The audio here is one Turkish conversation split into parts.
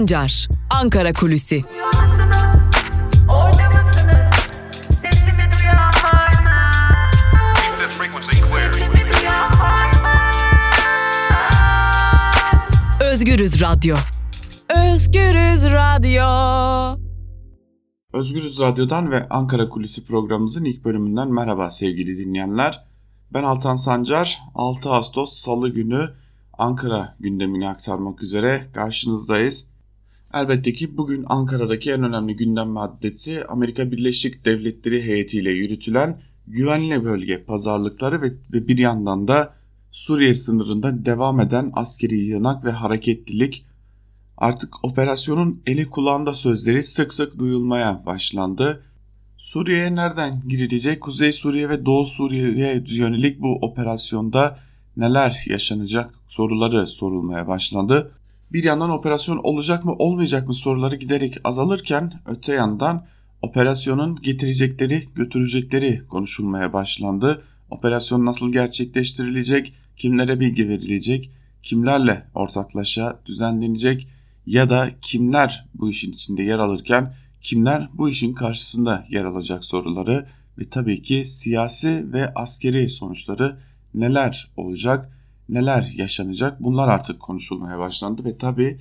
Sancar, Ankara Kulüsi. Özgürüz Radyo. Özgürüz Radyo. Özgürüz Radyo'dan ve Ankara Kulisi programımızın ilk bölümünden merhaba sevgili dinleyenler. Ben Altan Sancar, 6 Ağustos Salı günü Ankara gündemini aktarmak üzere karşınızdayız. Elbette ki bugün Ankara'daki en önemli gündem maddesi Amerika Birleşik Devletleri heyetiyle yürütülen güvenli bölge pazarlıkları ve bir yandan da Suriye sınırında devam eden askeri yığınak ve hareketlilik. Artık operasyonun eli kulağında sözleri sık sık duyulmaya başlandı. Suriye'ye nereden girilecek? Kuzey Suriye ve Doğu Suriye'ye yönelik bu operasyonda neler yaşanacak soruları sorulmaya başlandı. Bir yandan operasyon olacak mı olmayacak mı soruları giderek azalırken öte yandan operasyonun getirecekleri götürecekleri konuşulmaya başlandı. Operasyon nasıl gerçekleştirilecek, kimlere bilgi verilecek, kimlerle ortaklaşa düzenlenecek ya da kimler bu işin içinde yer alırken kimler bu işin karşısında yer alacak soruları ve tabii ki siyasi ve askeri sonuçları neler olacak, neler yaşanacak bunlar artık konuşulmaya başlandı ve tabii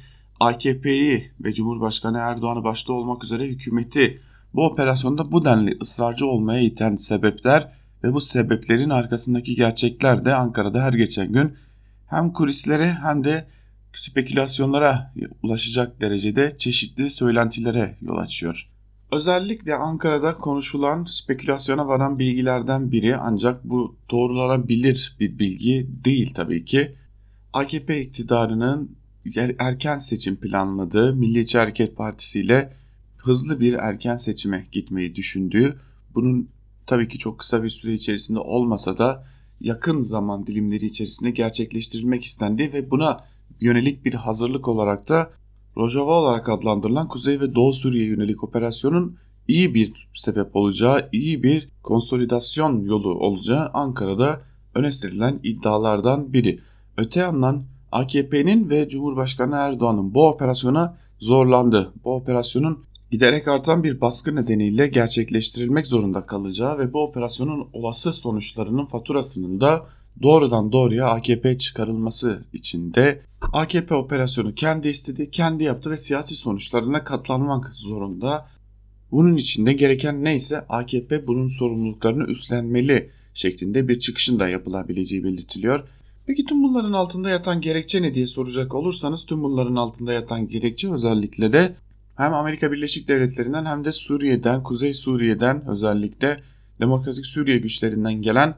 AKP'yi ve Cumhurbaşkanı Erdoğan'ı başta olmak üzere hükümeti bu operasyonda bu denli ısrarcı olmaya iten sebepler ve bu sebeplerin arkasındaki gerçekler de Ankara'da her geçen gün hem kulislere hem de spekülasyonlara ulaşacak derecede çeşitli söylentilere yol açıyor. Özellikle Ankara'da konuşulan spekülasyona varan bilgilerden biri ancak bu doğrulanabilir bir bilgi değil tabii ki. AKP iktidarının erken seçim planladığı Milliyetçi Hareket Partisi ile hızlı bir erken seçime gitmeyi düşündüğü, bunun tabii ki çok kısa bir süre içerisinde olmasa da yakın zaman dilimleri içerisinde gerçekleştirilmek istendiği ve buna yönelik bir hazırlık olarak da Rojava olarak adlandırılan Kuzey ve Doğu Suriye yönelik operasyonun iyi bir sebep olacağı, iyi bir konsolidasyon yolu olacağı Ankara'da öne sürülen iddialardan biri. Öte yandan AKP'nin ve Cumhurbaşkanı Erdoğan'ın bu operasyona zorlandı. Bu operasyonun giderek artan bir baskı nedeniyle gerçekleştirilmek zorunda kalacağı ve bu operasyonun olası sonuçlarının faturasının da doğrudan doğruya AKP çıkarılması için de AKP operasyonu kendi istedi, kendi yaptı ve siyasi sonuçlarına katlanmak zorunda. Bunun için de gereken neyse AKP bunun sorumluluklarını üstlenmeli şeklinde bir çıkışın da yapılabileceği belirtiliyor. Peki tüm bunların altında yatan gerekçe ne diye soracak olursanız tüm bunların altında yatan gerekçe özellikle de hem Amerika Birleşik Devletleri'nden hem de Suriye'den, Kuzey Suriye'den özellikle Demokratik Suriye güçlerinden gelen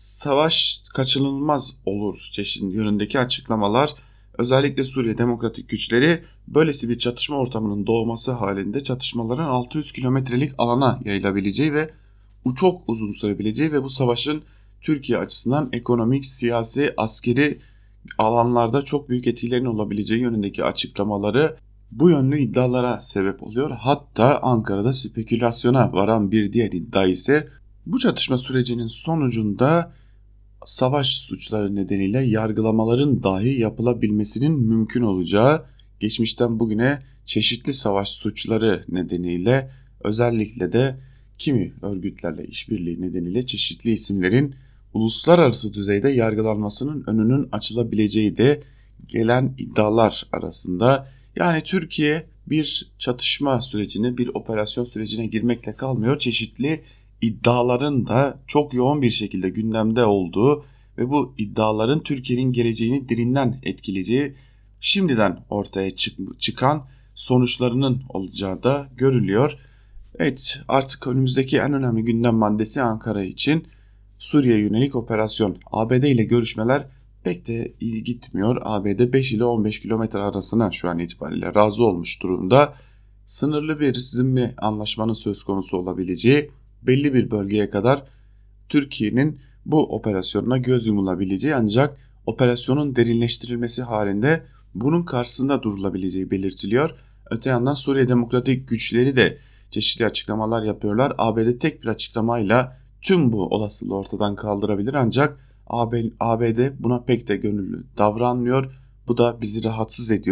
savaş kaçınılmaz olur çeşitli yönündeki açıklamalar. Özellikle Suriye Demokratik güçleri böylesi bir çatışma ortamının doğması halinde çatışmaların 600 kilometrelik alana yayılabileceği ve çok uzun sürebileceği ve bu savaşın Türkiye açısından ekonomik, siyasi, askeri alanlarda çok büyük etkilerinin olabileceği yönündeki açıklamaları bu yönlü iddialara sebep oluyor. Hatta Ankara'da spekülasyona varan bir diğer iddia ise bu çatışma sürecinin sonucunda savaş suçları nedeniyle yargılamaların dahi yapılabilmesinin mümkün olacağı, geçmişten bugüne çeşitli savaş suçları nedeniyle özellikle de kimi örgütlerle işbirliği nedeniyle çeşitli isimlerin uluslararası düzeyde yargılanmasının önünün açılabileceği de gelen iddialar arasında. Yani Türkiye bir çatışma sürecine, bir operasyon sürecine girmekle kalmıyor. Çeşitli iddiaların da çok yoğun bir şekilde gündemde olduğu ve bu iddiaların Türkiye'nin geleceğini derinden etkileyeceği şimdiden ortaya çıkan sonuçlarının olacağı da görülüyor. Evet, artık önümüzdeki en önemli gündem maddesi Ankara için Suriye yönelik operasyon. ABD ile görüşmeler pek de iyi gitmiyor. ABD 5 ile 15 kilometre arasına şu an itibariyle razı olmuş durumda. Sınırlı bir zimmi anlaşmanın söz konusu olabileceği, belli bir bölgeye kadar Türkiye'nin bu operasyonuna göz yumulabileceği ancak operasyonun derinleştirilmesi halinde bunun karşısında durulabileceği belirtiliyor. Öte yandan Suriye Demokratik güçleri de çeşitli açıklamalar yapıyorlar. ABD tek bir açıklamayla tüm bu olasılığı ortadan kaldırabilir ancak ABD buna pek de gönüllü davranmıyor. Bu da bizi rahatsız ediyor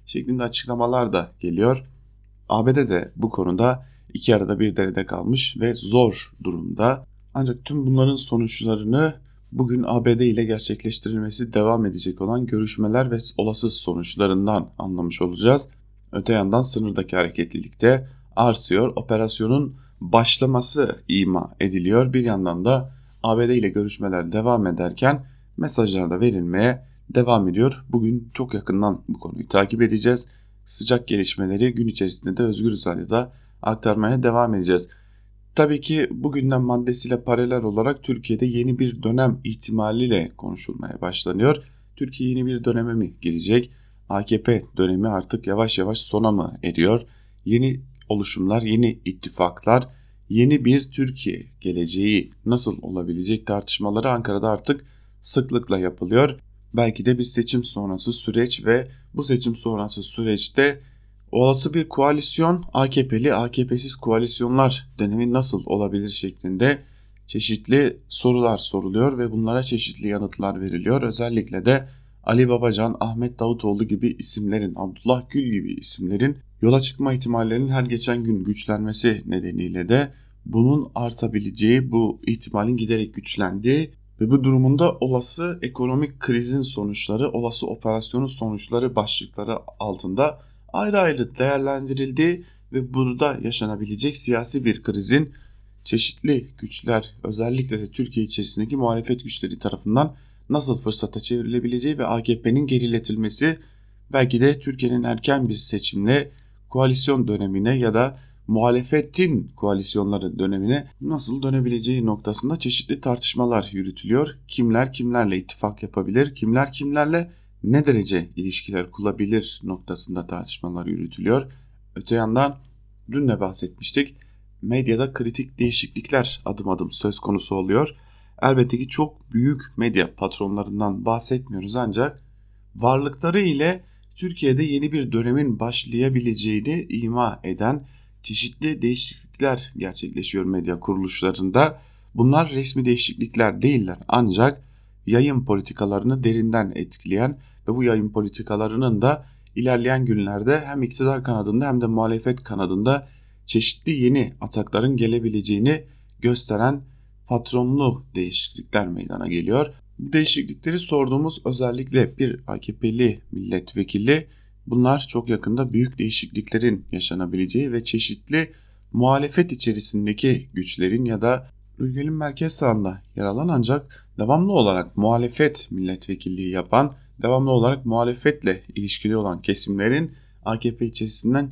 şeklinde açıklamalar da geliyor. ABD de bu konuda iki arada bir derede kalmış ve zor durumda. Ancak tüm bunların sonuçlarını bugün ABD ile gerçekleştirilmesi devam edecek olan görüşmeler ve olası sonuçlarından anlamış olacağız. Öte yandan sınırdaki hareketlilik de artıyor. Operasyonun başlaması ima ediliyor. Bir yandan da ABD ile görüşmeler devam ederken mesajlar da verilmeye devam ediyor. Bugün çok yakından bu konuyu takip edeceğiz. Sıcak gelişmeleri gün içerisinde de Özgürüz Radyo'da aktarmaya devam edeceğiz. Tabii ki bu gündem maddesiyle paralel olarak Türkiye'de yeni bir dönem ihtimaliyle konuşulmaya başlanıyor. Türkiye yeni bir döneme mi girecek? AKP dönemi artık yavaş yavaş sona mı eriyor? Yeni oluşumlar, yeni ittifaklar, yeni bir Türkiye geleceği nasıl olabilecek tartışmaları Ankara'da artık sıklıkla yapılıyor. Belki de bir seçim sonrası süreç ve bu seçim sonrası süreçte olası bir koalisyon, AKP'li, AKP'siz koalisyonlar dönemi nasıl olabilir şeklinde çeşitli sorular soruluyor ve bunlara çeşitli yanıtlar veriliyor. Özellikle de Ali Babacan, Ahmet Davutoğlu gibi isimlerin, Abdullah Gül gibi isimlerin yola çıkma ihtimallerinin her geçen gün güçlenmesi nedeniyle de bunun artabileceği, bu ihtimalin giderek güçlendiği ve bu durumunda olası ekonomik krizin sonuçları, olası operasyonun sonuçları başlıkları altında ayrı ayrı değerlendirildiği ve burada yaşanabilecek siyasi bir krizin çeşitli güçler, özellikle de Türkiye içerisindeki muhalefet güçleri tarafından nasıl fırsata çevrilebileceği ve AKP'nin geriletilmesi, belki de Türkiye'nin erken bir seçimle koalisyon dönemine ya da muhalefetin koalisyonları dönemine nasıl dönebileceği noktasında çeşitli tartışmalar yürütülüyor. Kimler kimlerle ittifak yapabilir, kimler kimlerle ne derece ilişkiler kurabilir noktasında tartışmalar yürütülüyor. Öte yandan dün de bahsetmiştik, medyada kritik değişiklikler adım adım söz konusu oluyor. Elbette ki çok büyük medya patronlarından bahsetmiyoruz, ancak varlıkları ile Türkiye'de yeni bir dönemin başlayabileceğini ima eden çeşitli değişiklikler gerçekleşiyor medya kuruluşlarında. Bunlar resmi değişiklikler değiller, ancak yayın politikalarını derinden etkileyen ve bu yayın politikalarının da ilerleyen günlerde hem iktidar kanadında hem de muhalefet kanadında çeşitli yeni atakların gelebileceğini gösteren patronlu değişiklikler meydana geliyor. Bu değişiklikleri sorduğumuz özellikle bir AKP'li milletvekili, bunlar çok yakında büyük değişikliklerin yaşanabileceği ve çeşitli muhalefet içerisindeki güçlerin ya da ülkenin merkez sağında yer alan ancak devamlı olarak muhalefet milletvekilliği yapan, devamlı olarak muhalefetle ilişkili olan kesimlerin AKP içerisinden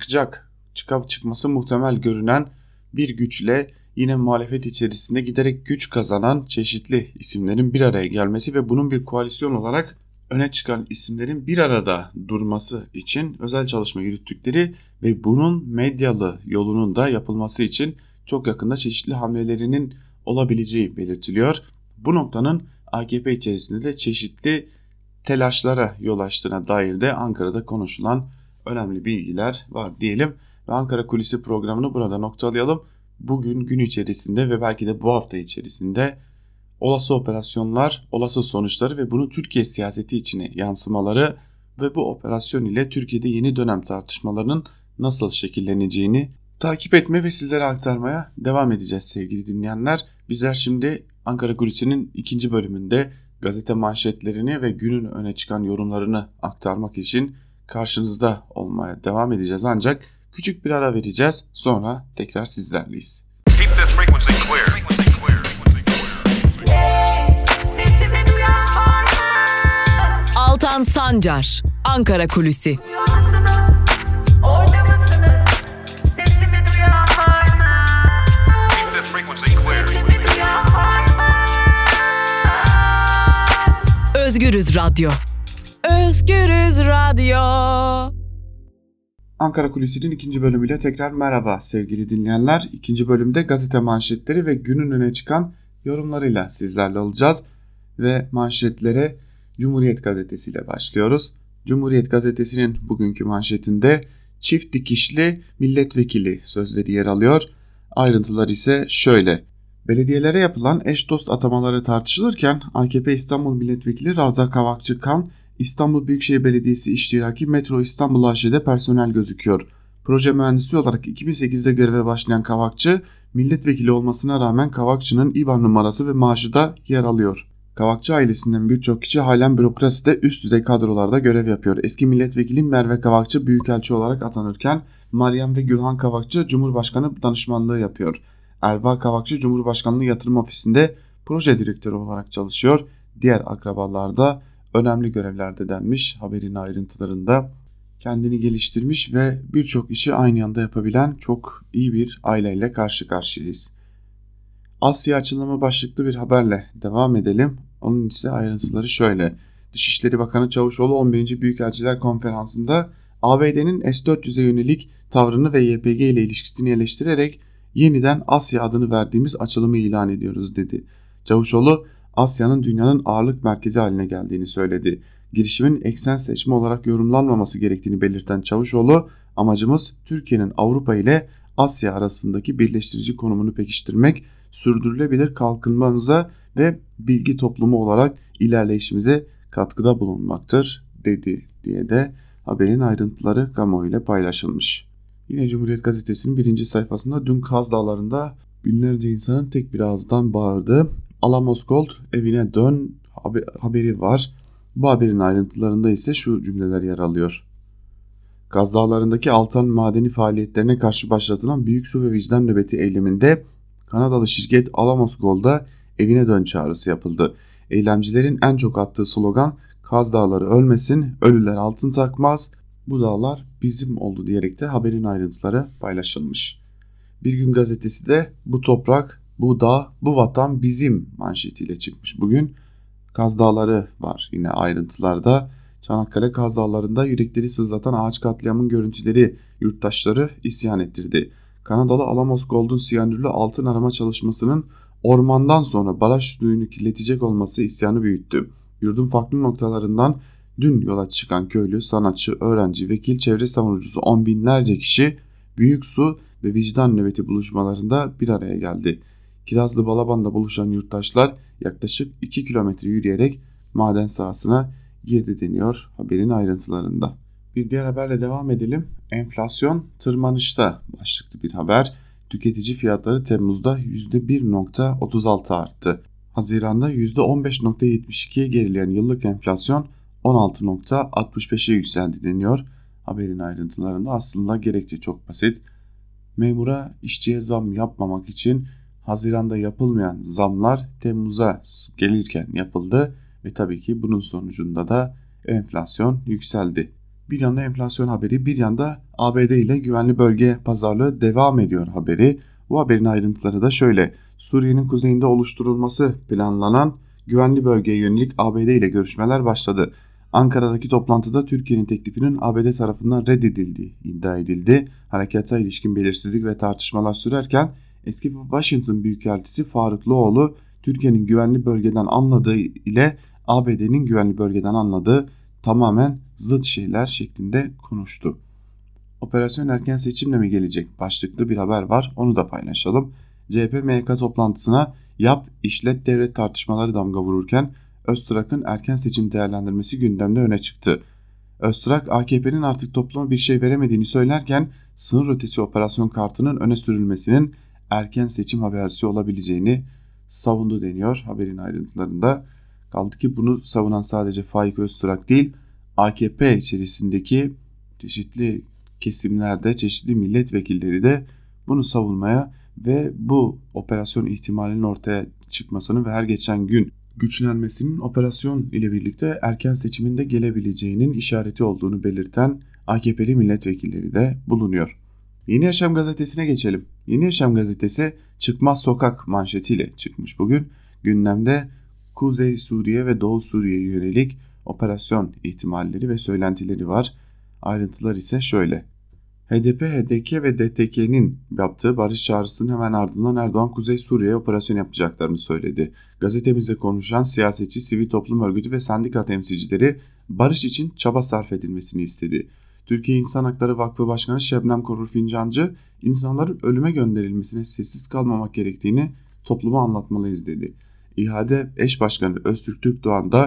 çıkması muhtemel görünen bir güçle yine muhalefet içerisinde giderek güç kazanan çeşitli isimlerin bir araya gelmesi ve bunun bir koalisyon olarak öne çıkan isimlerin bir arada durması için özel çalışma yürüttükleri ve bunun medyalı yolunun da yapılması için çok yakında çeşitli hamlelerinin olabileceği belirtiliyor. Bu noktanın AKP içerisinde de çeşitli telaşlara yol açtığına dair de Ankara'da konuşulan önemli bilgiler var diyelim ve Ankara Kulisi programını burada noktalayalım. Bugün gün içerisinde ve belki de bu hafta içerisinde olası operasyonlar, olası sonuçları ve bunu Türkiye siyaseti içine yansımaları ve bu operasyon ile Türkiye'de yeni dönem tartışmalarının nasıl şekilleneceğini takip etme ve sizlere aktarmaya devam edeceğiz sevgili dinleyenler. Bizler şimdi Ankara Kulisi'nin ikinci bölümünde gazete manşetlerini ve günün öne çıkan yorumlarını aktarmak için karşınızda olmaya devam edeceğiz. Ancak küçük bir ara vereceğiz, sonra tekrar sizlerleyiz. Altan Sancar, Ankara Kulisi. Özgürüz Radyo. Özgürüz Radyo. Ankara Kulisi'nin ikinci bölümüyle tekrar merhaba sevgili dinleyenler. İkinci bölümde gazete manşetleri ve günün öne çıkan yorumlarıyla sizlerle olacağız. Ve manşetlere Cumhuriyet Gazetesi ile başlıyoruz. Cumhuriyet Gazetesi'nin bugünkü manşetinde çift dikişli milletvekili sözleri yer alıyor. Ayrıntılar ise şöyle. Belediyelere yapılan eş dost atamaları tartışılırken AKP İstanbul Milletvekili Ravza Kavakçıkan İstanbul Büyükşehir Belediyesi iştiraki Metro İstanbul AŞ'de personel gözüküyor. Proje mühendisi olarak 2008'de göreve başlayan Kavakçı, milletvekili olmasına rağmen Kavakçı'nın İBAN numarası ve maaşı da yer alıyor. Kavakçı ailesinden birçok kişi halen bürokraside üst düzey kadrolarda görev yapıyor. Eski milletvekili Merve Kavakçı büyükelçi olarak atanırken Meryem ve Gülhan Kavakçı Cumhurbaşkanı danışmanlığı yapıyor. Erva Kavakçı Cumhurbaşkanlığı Yatırım Ofisi'nde proje direktörü olarak çalışıyor. Diğer akrabalar da önemli görevlerde denmiş haberin ayrıntılarında. Kendini geliştirmiş ve birçok işi aynı anda yapabilen çok iyi bir aileyle karşı karşıyayız. Asya açılımı başlıklı bir haberle devam edelim. Onun ise ayrıntıları şöyle. Dışişleri Bakanı Çavuşoğlu 11. Büyükelçiler Konferansı'nda ABD'nin S-400'e yönelik tavrını ve YPG ile ilişkisini eleştirerek yeniden Asya adını verdiğimiz açılımı ilan ediyoruz dedi. Çavuşoğlu Asya'nın dünyanın ağırlık merkezi haline geldiğini söyledi. Girişimin eksen seçme olarak yorumlanmaması gerektiğini belirten Çavuşoğlu, amacımız Türkiye'nin Avrupa ile Asya arasındaki birleştirici konumunu pekiştirmek, sürdürülebilir kalkınmamıza ve bilgi toplumu olarak ilerleyişimize katkıda bulunmaktır dedi diye de haberin ayrıntıları kamuoyuyla paylaşılmış. Yine Cumhuriyet Gazetesi'nin 1. sayfasında dün Kaz Dağları'nda binlerce insanın tek bir ağızdan bağırdığı "Alamos Gold evine dön" haberi var. Bu haberin ayrıntılarında ise şu cümleler yer alıyor. Kaz Dağları'ndaki altan madeni faaliyetlerine karşı başlatılan büyük su ve vicdan nöbeti eyleminde Kanadalı şirket Alamos Gold'a evine dön çağrısı yapıldı. Eylemcilerin en çok attığı slogan "Kaz Dağları ölmesin, ölüler altın takmaz, bu dağlar bizim oldu" diyerek de haberin ayrıntıları paylaşılmış. Bir Gün Gazetesi de "Bu toprak, bu dağ, bu vatan bizim" manşetiyle çıkmış bugün. Kaz Dağları var yine ayrıntılarda. Çanakkale Kaz Dağları'nda yürekleri sızlatan ağaç katliamın görüntüleri yurttaşları isyan ettirdi. Kanadalı Alamos Gold'un siyanürlü altın arama çalışmasının ormandan sonra baraj suyunu kirletecek olması isyanı büyüttü. Yurdun farklı noktalarından dün yola çıkan köylü, sanatçı, öğrenci, vekil, çevre savunucusu on binlerce kişi büyük su ve vicdan nöbeti buluşmalarında bir araya geldi. Kirazlı Balaban'da buluşan yurttaşlar yaklaşık 2 kilometre yürüyerek maden sahasına girdi deniyor haberin ayrıntılarında. Bir diğer haberle devam edelim. Enflasyon tırmanışta başlıklı bir haber. Tüketici fiyatları Temmuz'da %1.36 arttı. Haziran'da %15.72'ye gerileyen yıllık enflasyon 16.65'e yükseldi deniyor haberin ayrıntılarında. Aslında gerekçe çok basit. Memura, işçiye zam yapmamak için Haziran'da yapılmayan zamlar Temmuz'a gelirken yapıldı ve tabii ki bunun sonucunda da enflasyon yükseldi. Bir yanda enflasyon haberi, bir yanda ABD ile güvenli bölge pazarlığı devam ediyor haberi. Bu haberin ayrıntıları da şöyle. Suriye'nin kuzeyinde oluşturulması planlanan güvenli bölgeye yönelik ABD ile görüşmeler başladı. Ankara'daki toplantıda Türkiye'nin teklifinin ABD tarafından reddedildiği iddia edildi. Harekata ilişkin belirsizlik ve tartışmalar sürerken eski Washington Büyükelçisi Faruk Loğlu, Türkiye'nin güvenli bölgeden anladığı ile ABD'nin güvenli bölgeden anladığı tamamen zıt şeyler şeklinde konuştu. Operasyon erken seçimle mi gelecek başlıklı bir haber var, onu da paylaşalım. CHP MYK toplantısına yap işlet devlet tartışmaları damga vururken Öztrak'ın erken seçim değerlendirmesi gündemde öne çıktı. Öztrak, AKP'nin artık topluma bir şey veremediğini söylerken sınır ötesi operasyon kartının öne sürülmesinin erken seçim habercisi olabileceğini savundu deniyor haberin ayrıntılarında. Kaldı ki bunu savunan sadece Faik Öztrak değil, AKP içerisindeki çeşitli kesimlerde çeşitli milletvekilleri de bunu savunmaya ve bu operasyon ihtimalinin ortaya çıkmasını ve her geçen gün güçlenmesinin operasyon ile birlikte erken seçiminde gelebileceğinin işareti olduğunu belirten AKP'li milletvekilleri de bulunuyor. Yeni Yaşam gazetesine geçelim. Yeni Yaşam gazetesi çıkmaz sokak manşetiyle çıkmış bugün. Gündemde Kuzey Suriye ve Doğu Suriye'ye yönelik operasyon ihtimalleri ve söylentileri var. Ayrıntılar ise şöyle. HDP, HDK ve DTK'nin yaptığı barış çağrısının hemen ardından Erdoğan Kuzey Suriye'ye operasyon yapacaklarını söyledi. Gazetemize konuşan siyasetçi, sivil toplum örgütü ve sendika temsilcileri barış için çaba sarf edilmesini istedi. Türkiye İnsan Hakları Vakfı Başkanı Şebnem Korur Fincancı, insanların ölüme gönderilmesine sessiz kalmamak gerektiğini topluma anlatmalıyız dedi. İHA'de eş başkanı Öztürk Türkdoğan da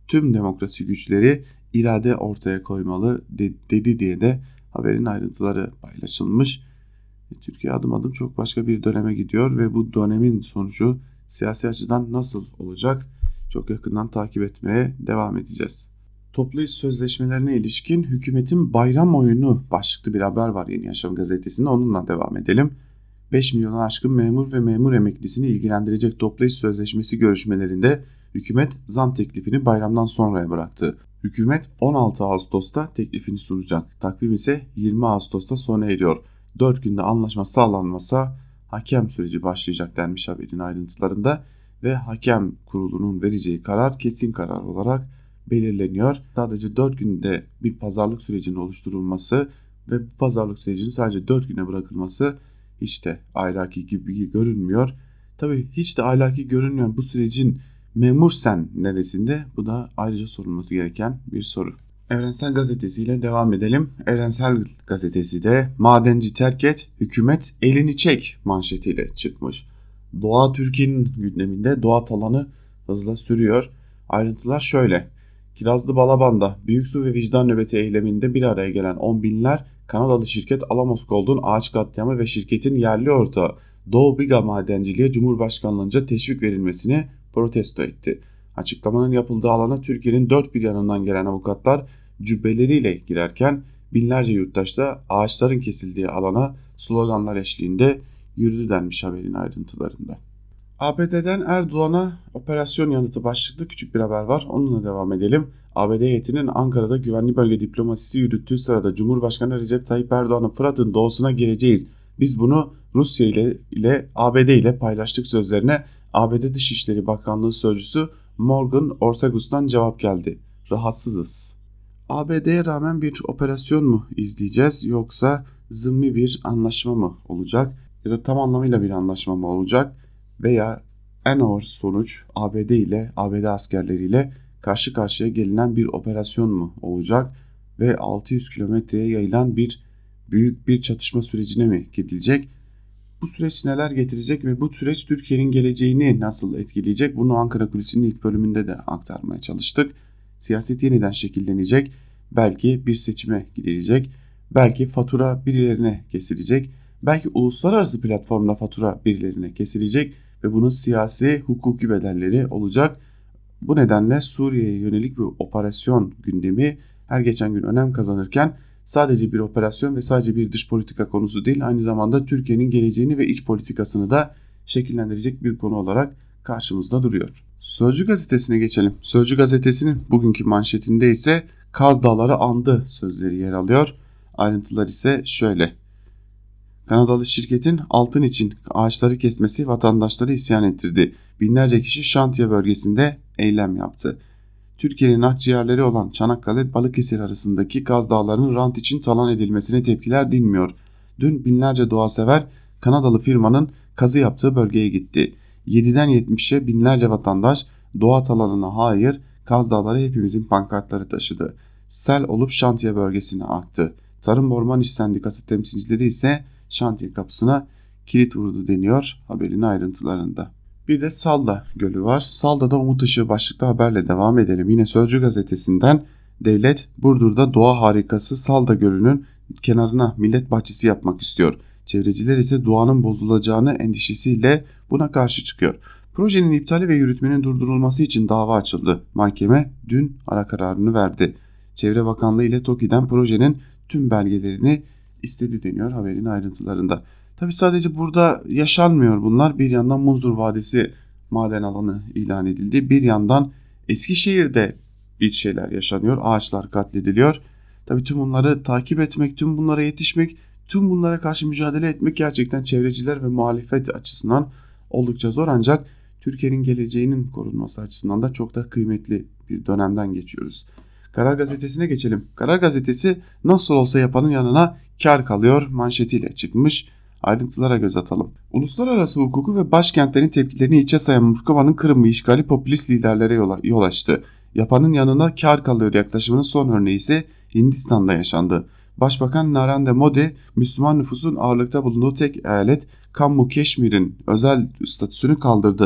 tüm demokrasi güçleri irade ortaya koymalı dedi diye de haberin ayrıntıları paylaşılmış. Türkiye adım adım çok başka bir döneme gidiyor ve bu dönemin sonucu siyasi açıdan nasıl olacak çok yakından takip etmeye devam edeceğiz. Toplu iş sözleşmelerine ilişkin hükümetin bayram oyunu başlıklı bir haber var Yeni Yaşam gazetesinde, onunla devam edelim. 5 milyona aşkın memur ve memur emeklisini ilgilendirecek toplu iş sözleşmesi görüşmelerinde hükümet zam teklifini bayramdan sonraya bıraktı. Hükümet 16 Ağustos'ta teklifini sunacak. Takvim ise 20 Ağustos'ta sona eriyor. 4 günde anlaşma sağlanmasa hakem süreci başlayacak denmiş haberin ayrıntılarında ve hakem kurulunun vereceği karar kesin karar olarak belirleniyor. Sadece 4 günde bir pazarlık sürecinin oluşturulması ve bu pazarlık sürecinin sadece 4 güne bırakılması hiç de ahlaki gibi görünmüyor. Tabii hiç de ahlaki görünmeyen bu sürecin memur sen neresinde? Bu da ayrıca sorulması gereken bir soru. Evrensel Gazetesi ile devam edelim. Evrensel Gazetesi de madenci terk et, hükümet elini çek manşetiyle çıkmış. Doğa Türkiye'nin gündeminde, doğa talanı hızla sürüyor. Ayrıntılar şöyle. Kirazlı Balaban'da büyük su ve vicdan nöbeti eyleminde bir araya gelen on binler Kanadalı şirket Alamos Gold'un ağaç katliamı ve şirketin yerli ortağı Doğu Biga Madenciliğe Cumhurbaşkanlığınca teşvik verilmesini protesto etti. Açıklamanın yapıldığı alana Türkiye'nin dört bir yanından gelen avukatlar cübbeleriyle girerken binlerce yurttaş da ağaçların kesildiği alana sloganlar eşliğinde yürüdü denmiş haberin ayrıntılarında. ABD'den Erdoğan'a operasyon yanıtı başlıklı küçük bir haber var. Onunla devam edelim. ABD heyetinin Ankara'da güvenli bölge diplomasisi yürüttüğü sırada Cumhurbaşkanı Recep Tayyip Erdoğan'ın Fırat'ın doğusuna geleceğiz. Biz bunu Rusya ile ABD ile paylaştık sözlerine ABD Dışişleri Bakanlığı Sözcüsü Morgan Ortagus'tan cevap geldi. Rahatsızız. ABD'ye rağmen bir operasyon mu izleyeceğiz yoksa zımmi bir anlaşma mı olacak ya da tam anlamıyla bir anlaşma mı olacak veya en ağır sonuç ABD askerleriyle karşı karşıya gelinen bir operasyon mu olacak ve 600 kilometreye yayılan büyük bir çatışma sürecine mi gidilecek? Bu süreç neler getirecek ve bu süreç Türkiye'nin geleceğini nasıl etkileyecek? Bunu Ankara Kulisi'nin ilk bölümünde de aktarmaya çalıştık. Siyaset yeniden şekillenecek, belki bir seçime gidilecek, belki fatura birilerine kesilecek, belki uluslararası platformda fatura birilerine kesilecek ve bunun siyasi, hukuki bedelleri olacak. Bu nedenle Suriye'ye yönelik bir operasyon gündemi her geçen gün önem kazanırken sadece bir operasyon ve sadece bir dış politika konusu değil, aynı zamanda Türkiye'nin geleceğini ve iç politikasını da şekillendirecek bir konu olarak karşımızda duruyor. Sözcü gazetesine geçelim. Sözcü gazetesinin bugünkü manşetinde ise Kaz Dağları andı sözleri yer alıyor. Ayrıntılar ise şöyle. Kanadalı şirketin altın için ağaçları kesmesi vatandaşları isyan ettirdi. Binlerce kişi şantiye bölgesinde eylem yaptı. Türkiye'nin akciğerleri olan Çanakkale Balıkesir arasındaki Kaz Dağları'nın rant için talan edilmesine tepkiler dinmiyor. Dün binlerce doğasever Kanadalı firmanın kazı yaptığı bölgeye gitti. 7'den 70'e binlerce vatandaş doğa talanına hayır, Kaz Dağları hepimizin pankartları taşıdı. Sel olup şantiye bölgesine aktı. Tarım Orman İş Sendikası temsilcileri ise şantiye kapısına kilit vurdu deniyor haberin ayrıntılarında. Bir de Salda Gölü var. Salda'da Umut Işığı başlıklı haberle devam edelim. Yine Sözcü gazetesinden devlet Burdur'da doğa harikası Salda Gölü'nün kenarına millet bahçesi yapmak istiyor. Çevreciler ise doğanın bozulacağını endişesiyle buna karşı çıkıyor. Projenin iptali ve yürütmenin durdurulması için dava açıldı. Mahkeme dün ara kararını verdi. Çevre Bakanlığı ile TOKİ'den projenin tüm belgelerini istedi deniyor haberin ayrıntılarında. Tabi sadece burada yaşanmıyor bunlar. Bir yandan Munzur Vadisi maden alanı ilan edildi. Bir yandan Eskişehir'de bir şeyler yaşanıyor. Ağaçlar katlediliyor. Tabi tüm bunları takip etmek, tüm bunlara yetişmek, tüm bunlara karşı mücadele etmek gerçekten çevreciler ve muhalefet açısından oldukça zor. Ancak Türkiye'nin geleceğinin korunması açısından da çok da kıymetli bir dönemden geçiyoruz. Karar Gazetesi'ne geçelim. Karar Gazetesi nasıl olsa yapanın yanına kar kalıyor manşetiyle çıkmış. Ayrıntılara göz atalım. Uluslararası hukuku ve başkentlerin tepkilerini içe sayan Moskova'nın Kırım'ı işgali popülist liderlere yol açtı. Yapanın yanına kar kalıyor yaklaşımının son örneği ise Hindistan'da yaşandı. Başbakan Narendra Modi, Müslüman nüfusun ağırlıkta bulunduğu tek eyalet Kammu Keşmir'in özel statüsünü kaldırdı.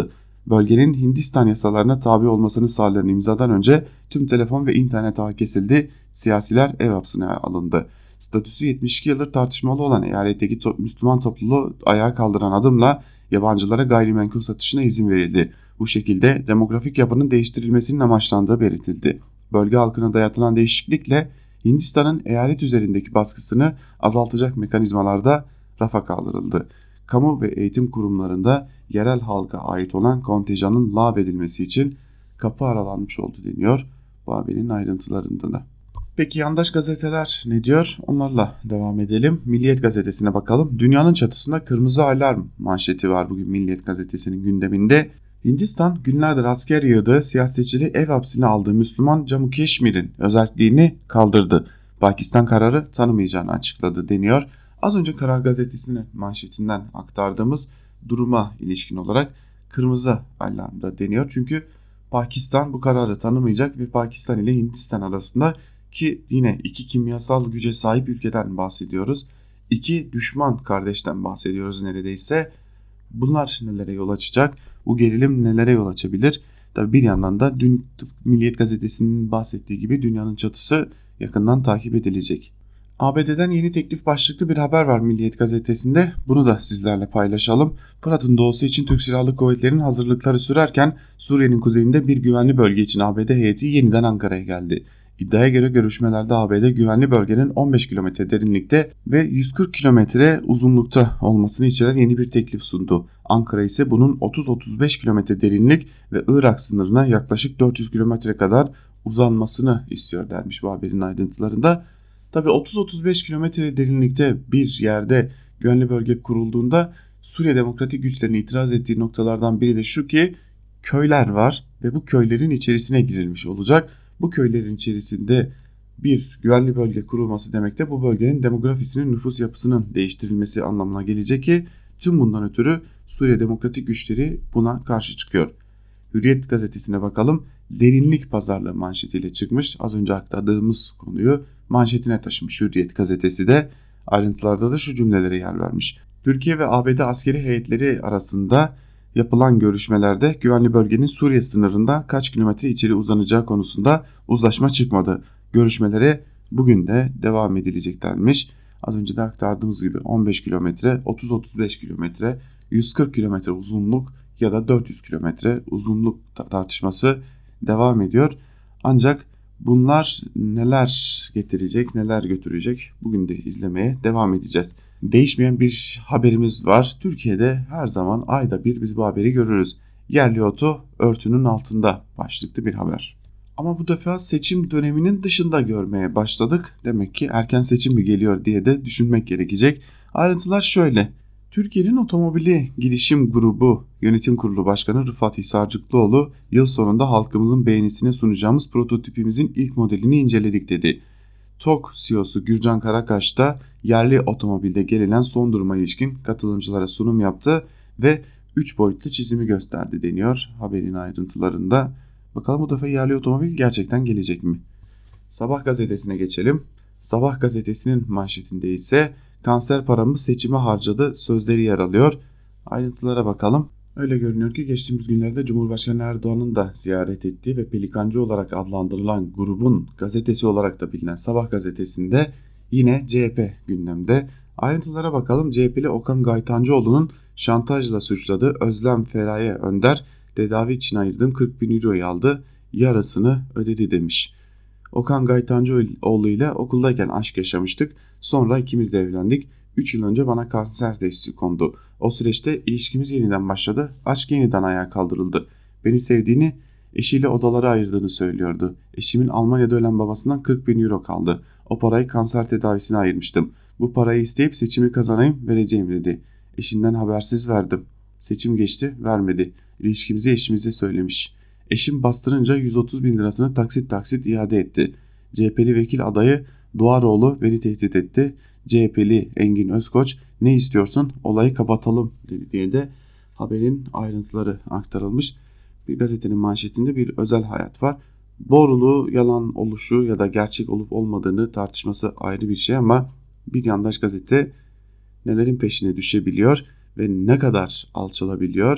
bölgenin Hindistan yasalarına tabi olmasını sağlayan imzadan önce tüm telefon ve internet ağı kesildi, siyasiler ev hapsine alındı. Statüsü 72 yıldır tartışmalı olan eyaletteki Müslüman topluluğu ayağa kaldıran adımla yabancılara gayrimenkul satışına izin verildi. Bu şekilde demografik yapının değiştirilmesinin amaçlandığı belirtildi. Bölge halkına dayatılan değişiklikle Hindistan'ın eyalet üzerindeki baskısını azaltacak mekanizmalarda rafa kaldırıldı. Kamu ve eğitim kurumlarında yerel halka ait olan kontenjanın lağvedilmesi için kapı aralanmış oldu deniyor bu haberin ayrıntılarında da. Peki yandaş gazeteler ne diyor? Onlarla devam edelim. Milliyet gazetesine bakalım. Dünyanın çatısında kırmızı alarm manşeti var bugün Milliyet gazetesinin gündeminde. Hindistan günlerdir asker yığdığı siyasetçileri ev hapsine aldığı Müslüman Cammu Keşmir'in özelliğini kaldırdı. Pakistan kararı tanımayacağını açıkladı deniyor. Az önce Karar Gazetesi'nin manşetinden aktardığımız duruma ilişkin olarak kırmızı alarmda deniyor. Çünkü Pakistan bu kararı tanımayacak ve Pakistan ile Hindistan arasında ki yine iki kimyasal güce sahip ülkeden bahsediyoruz. İki düşman kardeşten bahsediyoruz neredeyse. Bunlar nelere yol açacak? Bu gerilim nelere yol açabilir? Tabii bir yandan da dün Milliyet Gazetesi'nin bahsettiği gibi dünyanın çatısı yakından takip edilecek. ABD'den yeni teklif başlıklı bir haber var Milliyet Gazetesi'nde. Bunu da sizlerle paylaşalım. Fırat'ın doğusu için Türk Silahlı Kuvvetleri'nin hazırlıkları sürerken Suriye'nin kuzeyinde bir güvenli bölge için ABD heyeti yeniden Ankara'ya geldi. İddiaya göre görüşmelerde ABD güvenli bölgenin 15 kilometre derinlikte ve 140 kilometre uzunlukta olmasını içeren yeni bir teklif sundu. Ankara ise bunun 30-35 kilometre derinlik ve Irak sınırına yaklaşık 400 kilometre kadar uzanmasını istiyor dermiş bu haberin ayrıntılarında. Tabii 30-35 kilometre derinlikte bir yerde güvenli bölge kurulduğunda Suriye Demokratik Güçlerinin itiraz ettiği noktalardan biri de şu ki köyler var ve bu köylerin içerisine girilmiş olacak. Bu köylerin içerisinde bir güvenli bölge kurulması demek de bu bölgenin demografisinin, nüfus yapısının değiştirilmesi anlamına gelecek ki tüm bundan ötürü Suriye Demokratik Güçleri buna karşı çıkıyor. Hürriyet gazetesine bakalım. Derinlik pazarlığı manşetiyle çıkmış. Az önce aktardığımız konuyu manşetine taşımış Hürriyet gazetesi de. Ayrıntılarda da şu cümlelere yer vermiş. Türkiye ve ABD askeri heyetleri arasında yapılan görüşmelerde güvenli bölgenin Suriye sınırında kaç kilometre içeri uzanacağı konusunda uzlaşma çıkmadı. Görüşmelere bugün de devam edilecek denmiş. Az önce de aktardığımız gibi 15 kilometre, 30-35 kilometre, 140 kilometre uzunluk ya da 400 kilometre uzunluk tartışması devam ediyor. Ancak bunlar neler getirecek, neler götürecek bugün de izlemeye devam edeceğiz. Değişmeyen bir haberimiz var. Türkiye'de her zaman ayda bir biz bu haberi görürüz. Yerli otu örtünün altında başlıklı bir haber. Ama bu defa seçim döneminin dışında görmeye başladık. Demek ki erken seçim mi geliyor diye de düşünmek gerekecek. Ayrıntılar şöyle. Türkiye'nin Otomobili Girişim Grubu Yönetim Kurulu Başkanı Rıfat Hisarcıklıoğlu yıl sonunda halkımızın beğenisine sunacağımız prototipimizin ilk modelini inceledik dedi. TOG CEO'su Gürcan Karakaş da yerli otomobilde gelinen son duruma ilişkin katılımcılara sunum yaptı ve 3 boyutlu çizimi gösterdi deniyor haberin ayrıntılarında. Bakalım bu defa yerli otomobil gerçekten gelecek mi? Sabah gazetesine geçelim. Sabah gazetesinin manşetinde ise kanser paramı seçime harcadı sözleri yer alıyor. Ayrıntılara bakalım. Öyle görünüyor ki geçtiğimiz günlerde Cumhurbaşkanı Erdoğan'ın da ziyaret ettiği ve Pelikancı olarak adlandırılan grubun gazetesi olarak da bilinen Sabah gazetesinde yine CHP gündemde. Ayrıntılara bakalım. CHP'li Okan Gaytancıoğlu'nun şantajla suçladığı Özlem Feraye Önder tedavi için ayırdığım 40 bin euroyu aldı, yarısını ödedi demiş. Okan Gaytancıoğlu ile okuldayken aşk yaşamıştık. Sonra ikimiz de evlendik. 3 yıl önce bana kanser teşhisi kondu. O süreçte ilişkimiz yeniden başladı. Aşk yeniden ayağa kaldırıldı. Beni sevdiğini, eşiyle odaları ayırdığını söylüyordu. Eşimin Almanya'da ölen babasından 40 bin euro kaldı. O parayı kanser tedavisine ayırmıştım. Bu parayı isteyip seçimi kazanayım vereceğim dedi. Eşinden habersiz verdim. Seçim geçti, vermedi. İlişkimizi eşimize söylemiş. Eşim bastırınca 130 bin lirasını taksit taksit iade etti. CHP'li vekil adayı Duaroğlu beni tehdit etti. CHP'li Engin Özkoç ne istiyorsun olayı kapatalım dedi diye de haberin ayrıntıları aktarılmış. Bir gazetenin manşetinde bir özel hayat var. Doğruluğu yalan oluşu ya da gerçek olup olmadığını tartışması ayrı bir şey ama bir yandaş gazete nelerin peşine düşebiliyor ve ne kadar alçalabiliyor.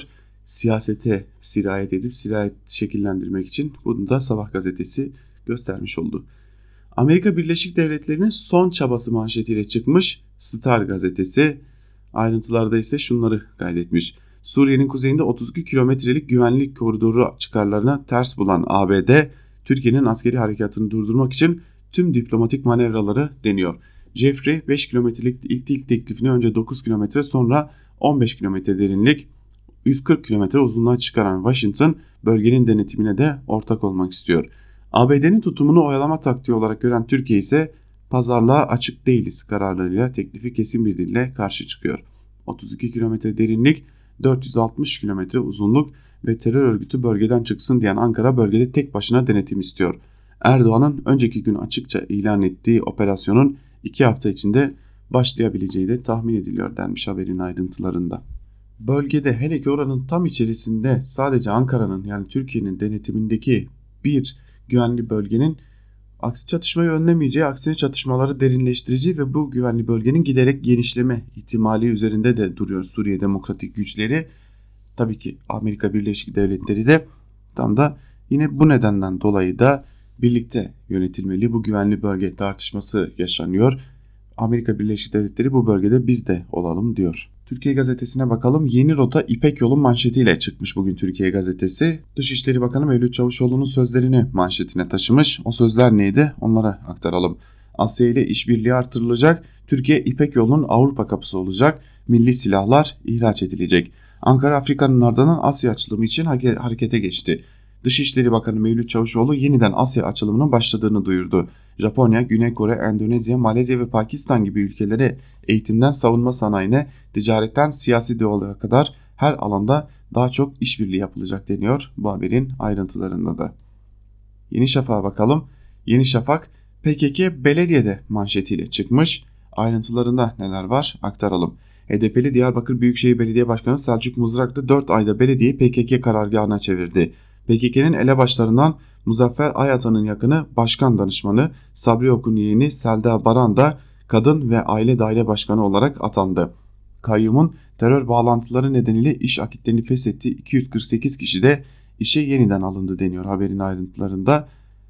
siyasete sirayet şekillendirmek için bunu da Sabah gazetesi göstermiş oldu. Amerika Birleşik Devletleri'nin son çabası manşetiyle çıkmış Star gazetesi. Ayrıntılarda ise şunları kaydetmiş. Suriye'nin kuzeyinde 32 kilometrelik güvenlik koridoru çıkarlarına ters bulan ABD, Türkiye'nin askeri harekatını durdurmak için tüm diplomatik manevraları deniyor. Jeffrey 5 kilometrelik ilk teklifini önce 9 kilometre sonra 15 kilometre derinlik 140 kilometre uzunluğa çıkaran Washington bölgenin denetimine de ortak olmak istiyor. ABD'nin tutumunu oyalama taktiği olarak gören Türkiye ise pazarlığa açık değiliz kararlarıyla teklifi kesin bir dille karşı çıkıyor. 32 kilometre derinlik, 460 kilometre uzunluk ve terör örgütü bölgeden çıksın diyen Ankara bölgede tek başına denetim istiyor. Erdoğan'ın önceki gün açıkça ilan ettiği operasyonun 2 hafta içinde başlayabileceği de tahmin ediliyor denmiş haberin ayrıntılarında. Bölgede hele ki oranın tam içerisinde sadece Ankara'nın yani Türkiye'nin denetimindeki bir güvenli bölgenin çatışmayı önlemeyeceği, aksine çatışmaları derinleştireceği ve bu güvenli bölgenin giderek genişleme ihtimali üzerinde de duruyor Suriye Demokratik Güçleri. Tabii ki Amerika Birleşik Devletleri de tam da yine bu nedenden dolayı da birlikte yönetilmeli bu güvenli bölge tartışması yaşanıyor. Amerika Birleşik Devletleri bu bölgede biz de olalım diyor. Türkiye Gazetesi'ne bakalım. Yeni rota İpek Yolu manşetiyle çıkmış bugün Türkiye Gazetesi. Dışişleri Bakanı Mevlüt Çavuşoğlu'nun sözlerini manşetine taşımış. O sözler neydi? Onlara aktaralım. Asya ile işbirliği artırılacak. Türkiye İpek Yolu'nun Avrupa kapısı olacak. Milli silahlar ihraç edilecek. Ankara Afrika'nın ardından Asya açılımı için harekete geçti. Dışişleri Bakanı Mevlüt Çavuşoğlu yeniden Asya açılımının başladığını duyurdu. Japonya, Güney Kore, Endonezya, Malezya ve Pakistan gibi ülkelere eğitimden savunma sanayine, ticaretten siyasi diyaloğa kadar her alanda daha çok işbirliği yapılacak deniyor bu haberin ayrıntılarında da. Yeni Şafak'a bakalım. Yeni Şafak PKK belediyede manşetiyle çıkmış. Ayrıntılarında neler var aktaralım. HDP'li Diyarbakır Büyükşehir Belediye Başkanı Selçuk Mızraklı 4 ayda belediyeyi PKK karargahına çevirdi. PKK'nın elebaşlarından Muzaffer Ayatan'ın yakını başkan danışmanı, Sabri Ok'un yeğeni Selda Baran da kadın ve aile daire başkanı olarak atandı. Kayyumun terör bağlantıları nedeniyle iş akitlerini feshettiği 248 kişi de işe yeniden alındı deniyor haberin ayrıntılarında.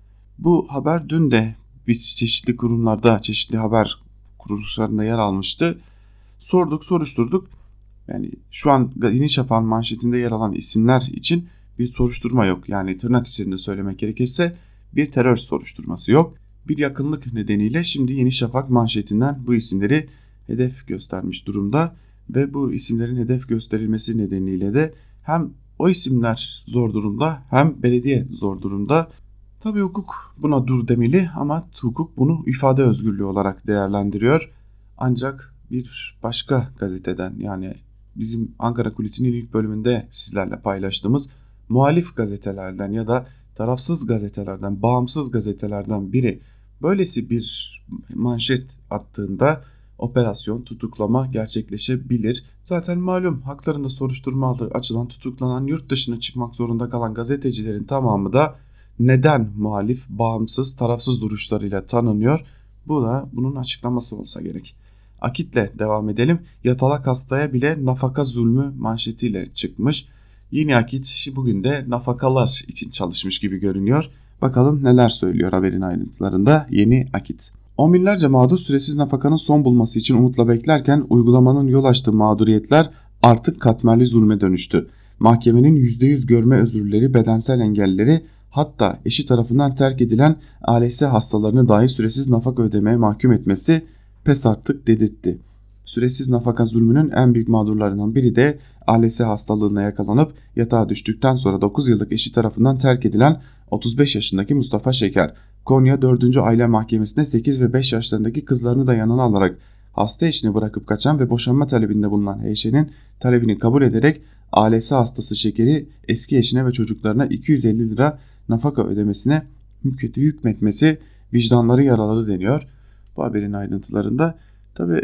Bu haber dün de çeşitli kurumlarda, çeşitli haber kuruluşlarında yer almıştı. Sorduk, soruşturduk. Yani şu an Yeni Şafak'ın manşetinde yer alan isimler için bir soruşturma yok. Yani tırnak içinde söylemek gerekirse bir terör soruşturması yok. Bir yakınlık nedeniyle şimdi Yeni Şafak manşetinden bu isimleri hedef göstermiş durumda ve bu isimlerin hedef gösterilmesi nedeniyle de hem o isimler zor durumda hem belediye zor durumda. Tabii hukuk buna dur demeli ama hukuk bunu ifade özgürlüğü olarak değerlendiriyor. Ancak bir başka gazeteden yani bizim Ankara Kulisi'nin ilk bölümünde sizlerle paylaştığımız muhalif gazetelerden ya da tarafsız gazetelerden, bağımsız gazetelerden biri böylesi bir manşet attığında operasyon, tutuklama gerçekleşebilir. Zaten malum haklarında soruşturma açılan, tutuklanan, yurt dışına çıkmak zorunda kalan gazetecilerin tamamı da neden muhalif, bağımsız, tarafsız duruşlarıyla tanınıyor? Bu da bunun açıklaması olsa gerek. Akit'le devam edelim. Yatalak hastaya bile nafaka zulmü manşetiyle çıkmış. Yeni Akit bugün de nafakalar için çalışmış gibi görünüyor. Bakalım neler söylüyor haberin ayrıntılarında Yeni Akit. On binlerce mağdur süresiz nafakanın son bulması için umutla beklerken uygulamanın yol açtığı mağduriyetler artık katmerli zulme dönüştü. Mahkemenin %100 görme özürleri, bedensel engelleri, hatta eşi tarafından terk edilen ALS hastalarını dahi süresiz nafaka ödemeye mahkum etmesi pes artık dedirtti. Süresiz nafaka zulmünün en büyük mağdurlarından biri de ALS hastalığına yakalanıp yatağa düştükten sonra 9 yıllık eşi tarafından terk edilen 35 yaşındaki Mustafa Şeker. Konya 4. Aile Mahkemesi'nde 8 ve 5 yaşlarındaki kızlarını da yanına alarak hasta eşini bırakıp kaçan ve boşanma talebinde bulunan HŞ'nin talebini kabul ederek ALS hastası Şeker'i eski eşine ve çocuklarına 250 lira nafaka ödemesine hükmetmesi vicdanları yaraladı deniyor. Bu haberin ayrıntılarında tabi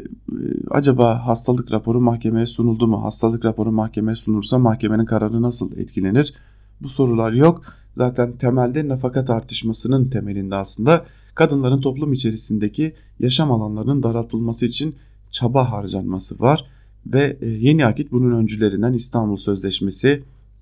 acaba hastalık raporu mahkemeye sunuldu mu? Hastalık raporu mahkemeye sunulursa mahkemenin kararı nasıl etkilenir? Bu sorular yok. Zaten temelde nafaka tartışmasının temelinde aslında kadınların toplum içerisindeki yaşam alanlarının daraltılması için çaba harcanması var. Ve Yeni Akit bunun öncülerinden İstanbul Sözleşmesi,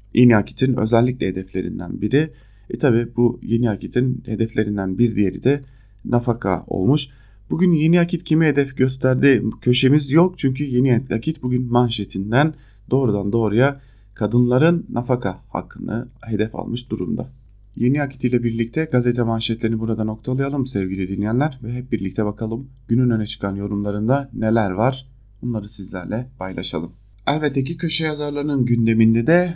Yeni Akit'in özellikle hedeflerinden biri. Tabi bu Yeni Akit'in hedeflerinden bir diğeri de nafaka olmuş. Bugün Yeni Akit kimi hedef gösterdi köşemiz yok, çünkü Yeni Akit bugün manşetinden doğrudan doğruya kadınların nafaka hakkını hedef almış durumda. Yeni Akit ile birlikte gazete manşetlerini burada noktalayalım sevgili dinleyenler ve hep birlikte bakalım günün öne çıkan yorumlarında neler var, bunları sizlerle paylaşalım. Elbette ki köşe yazarlarının gündeminde de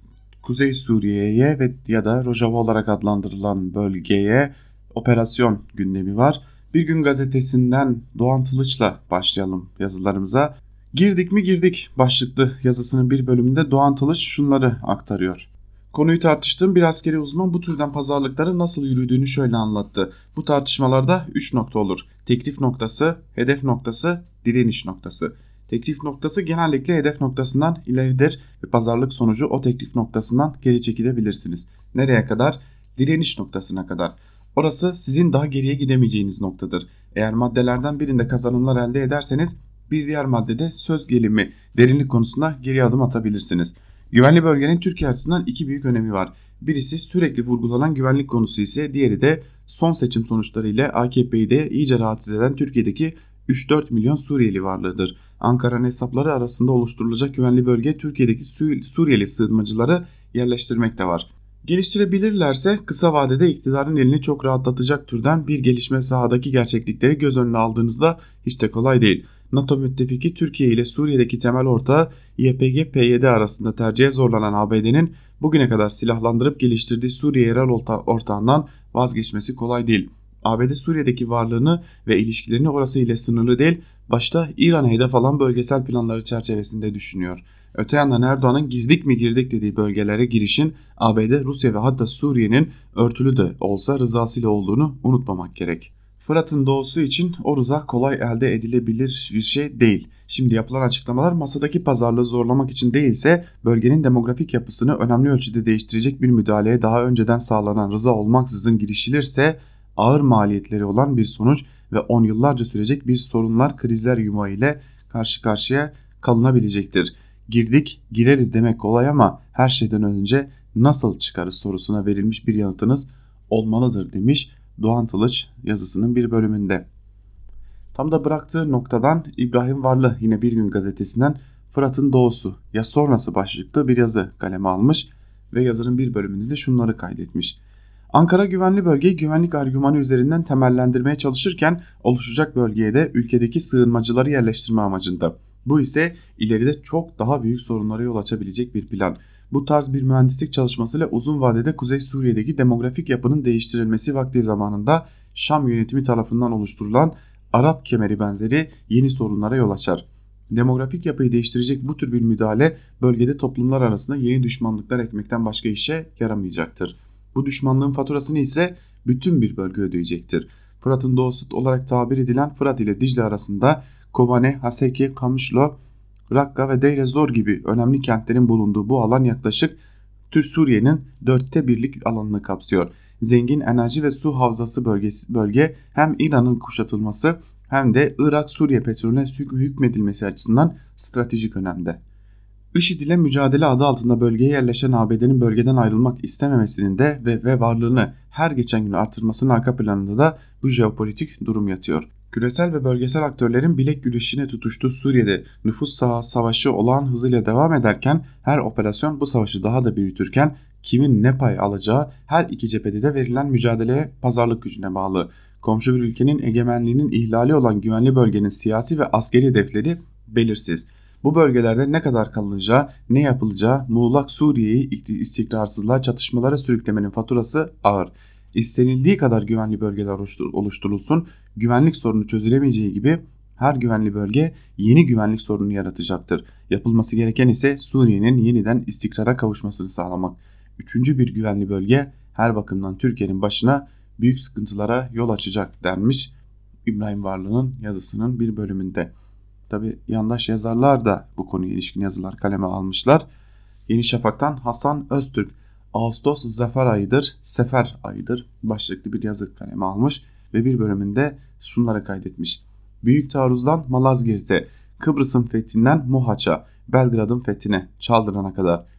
Kuzey Suriye'ye ve ya da Rojava olarak adlandırılan bölgeye operasyon gündemi var. Bir Gün Gazetesi'nden Doğan Tılıç'la başlayalım yazılarımıza. Girdik mi girdik başlıklı yazısının bir bölümünde Doğan Tılıç şunları aktarıyor. Konuyu tartıştığım bir askeri uzman bu türden pazarlıkların nasıl yürüdüğünü şöyle anlattı. Bu tartışmalarda 3 nokta olur. Teklif noktası, hedef noktası, direniş noktası. Teklif noktası genellikle hedef noktasından ileridir ve pazarlık sonucu o teklif noktasından geri çekilebilirsiniz. Nereye kadar? Direniş noktasına kadar. Orası sizin daha geriye gidemeyeceğiniz noktadır. Eğer maddelerden birinde kazanımlar elde ederseniz bir diğer maddede söz gelimi, derinlik konusunda geri adım atabilirsiniz. Güvenli bölgenin Türkiye açısından iki büyük önemi var. Birisi sürekli vurgulanan güvenlik konusu ise diğeri de son seçim sonuçları ile AKP'yi de iyice rahatsız eden Türkiye'deki 3-4 milyon Suriyeli varlığıdır. Ankara'nın hesapları arasında oluşturulacak güvenli bölge Türkiye'deki Suriyeli sığınmacıları yerleştirmek de var. Geliştirebilirlerse kısa vadede iktidarın elini çok rahatlatacak türden bir gelişme, sahadaki gerçeklikleri göz önüne aldığınızda hiç de kolay değil. NATO müttefiki Türkiye ile Suriye'deki temel ortağı YPG-PYD arasında tercihe zorlanan ABD'nin bugüne kadar silahlandırıp geliştirdiği Suriye yerel ortağından vazgeçmesi kolay değil. ABD Suriye'deki varlığını ve ilişkilerini orası ile sınırlı değil, başta İran'a hedef alan bölgesel planları çerçevesinde düşünüyor. Öte yandan Erdoğan'ın girdik mi girdik dediği bölgelere girişin ABD, Rusya ve hatta Suriye'nin örtülü de olsa rızasıyla olduğunu unutmamak gerek. Fırat'ın doğusu için o rıza kolay elde edilebilir bir şey değil. Şimdi yapılan açıklamalar masadaki pazarlığı zorlamak için değilse bölgenin demografik yapısını önemli ölçüde değiştirecek bir müdahaleye daha önceden sağlanan rıza olmaksızın girişilirse ağır maliyetleri olan bir sonuç ve 10 yıllarca sürecek bir sorunlar, krizler yumağı ile karşı karşıya kalınabilecektir. Girdik, gireriz demek kolay ama her şeyden önce nasıl çıkarız sorusuna verilmiş bir yanıtınız olmalıdır demiş Doğan Tılıç yazısının bir bölümünde. Tam da bıraktığı noktadan İbrahim Varlı yine Bir Gün Gazetesi'nden Fırat'ın doğusu ya sonrası başlıklı bir yazı kaleme almış ve yazının bir bölümünde de şunları kaydetmiş. Ankara güvenli bölgeyi güvenlik argümanı üzerinden temellendirmeye çalışırken oluşacak bölgeye de ülkedeki sığınmacıları yerleştirme amacında. Bu ise ileride çok daha büyük sorunlara yol açabilecek bir plan. Bu tarz bir mühendislik çalışmasıyla uzun vadede Kuzey Suriye'deki demografik yapının değiştirilmesi vakti zamanında Şam yönetimi tarafından oluşturulan Arap kemeri benzeri yeni sorunlara yol açar. Demografik yapıyı değiştirecek bu tür bir müdahale bölgede toplumlar arasında yeni düşmanlıklar ekmekten başka işe yaramayacaktır. Bu düşmanlığın faturasını ise bütün bir bölge ödeyecektir. Fırat'ın doğusu olarak tabir edilen Fırat ile Dicle arasında Kobane, Haseki, Kamışlo, Rakka ve Deir ez-Zor gibi önemli kentlerin bulunduğu bu alan yaklaşık Suriye'nin 1/4'lik alanını kapsıyor. Zengin enerji ve su havzası bölge hem İran'ın kuşatılması hem de Irak-Suriye petrolüne hükmedilmesi açısından stratejik önemde. IŞİD ile mücadele adı altında bölgeye yerleşen ABD'nin bölgeden ayrılmak istememesinin de ve varlığını her geçen gün artırmasının arka planında da bu jeopolitik durum yatıyor. Küresel ve bölgesel aktörlerin bilek güreşine tutuştuğu Suriye'de nüfus savaşı olağan hızıyla devam ederken her operasyon bu savaşı daha da büyütürken kimin ne pay alacağı her iki cephede de verilen mücadeleye pazarlık gücüne bağlı. Komşu bir ülkenin egemenliğinin ihlali olan güvenli bölgenin siyasi ve askeri hedefleri belirsiz. Bu bölgelerde ne kadar kalınacağı, ne yapılacağı muğlak Suriye'yi istikrarsızlığa, çatışmalara sürüklemenin faturası ağır. İstenildiği kadar güvenli bölgeler oluşturulsun, güvenlik sorunu çözülemeyeceği gibi her güvenli bölge yeni güvenlik sorunu yaratacaktır. Yapılması gereken ise Suriye'nin yeniden istikrara kavuşmasını sağlamak. Üçüncü bir güvenli bölge her bakımdan Türkiye'nin başına büyük sıkıntılara yol açacak denmiş İbrahim Varlı'nın yazısının bir bölümünde. Tabi yandaş yazarlar da bu konuya ilişkin yazılar kaleme almışlar. Yeni Şafak'tan Hasan Öztürk, Ağustos zafer ayıdır, sefer ayıdır başlıklı bir yazı kaleme almış ve bir bölümünde şunları kaydetmiş. Büyük taarruzdan Malazgirt'e, Kıbrıs'ın fethinden Mohaç'a, Belgrad'ın fethine, Çaldıran'a kadar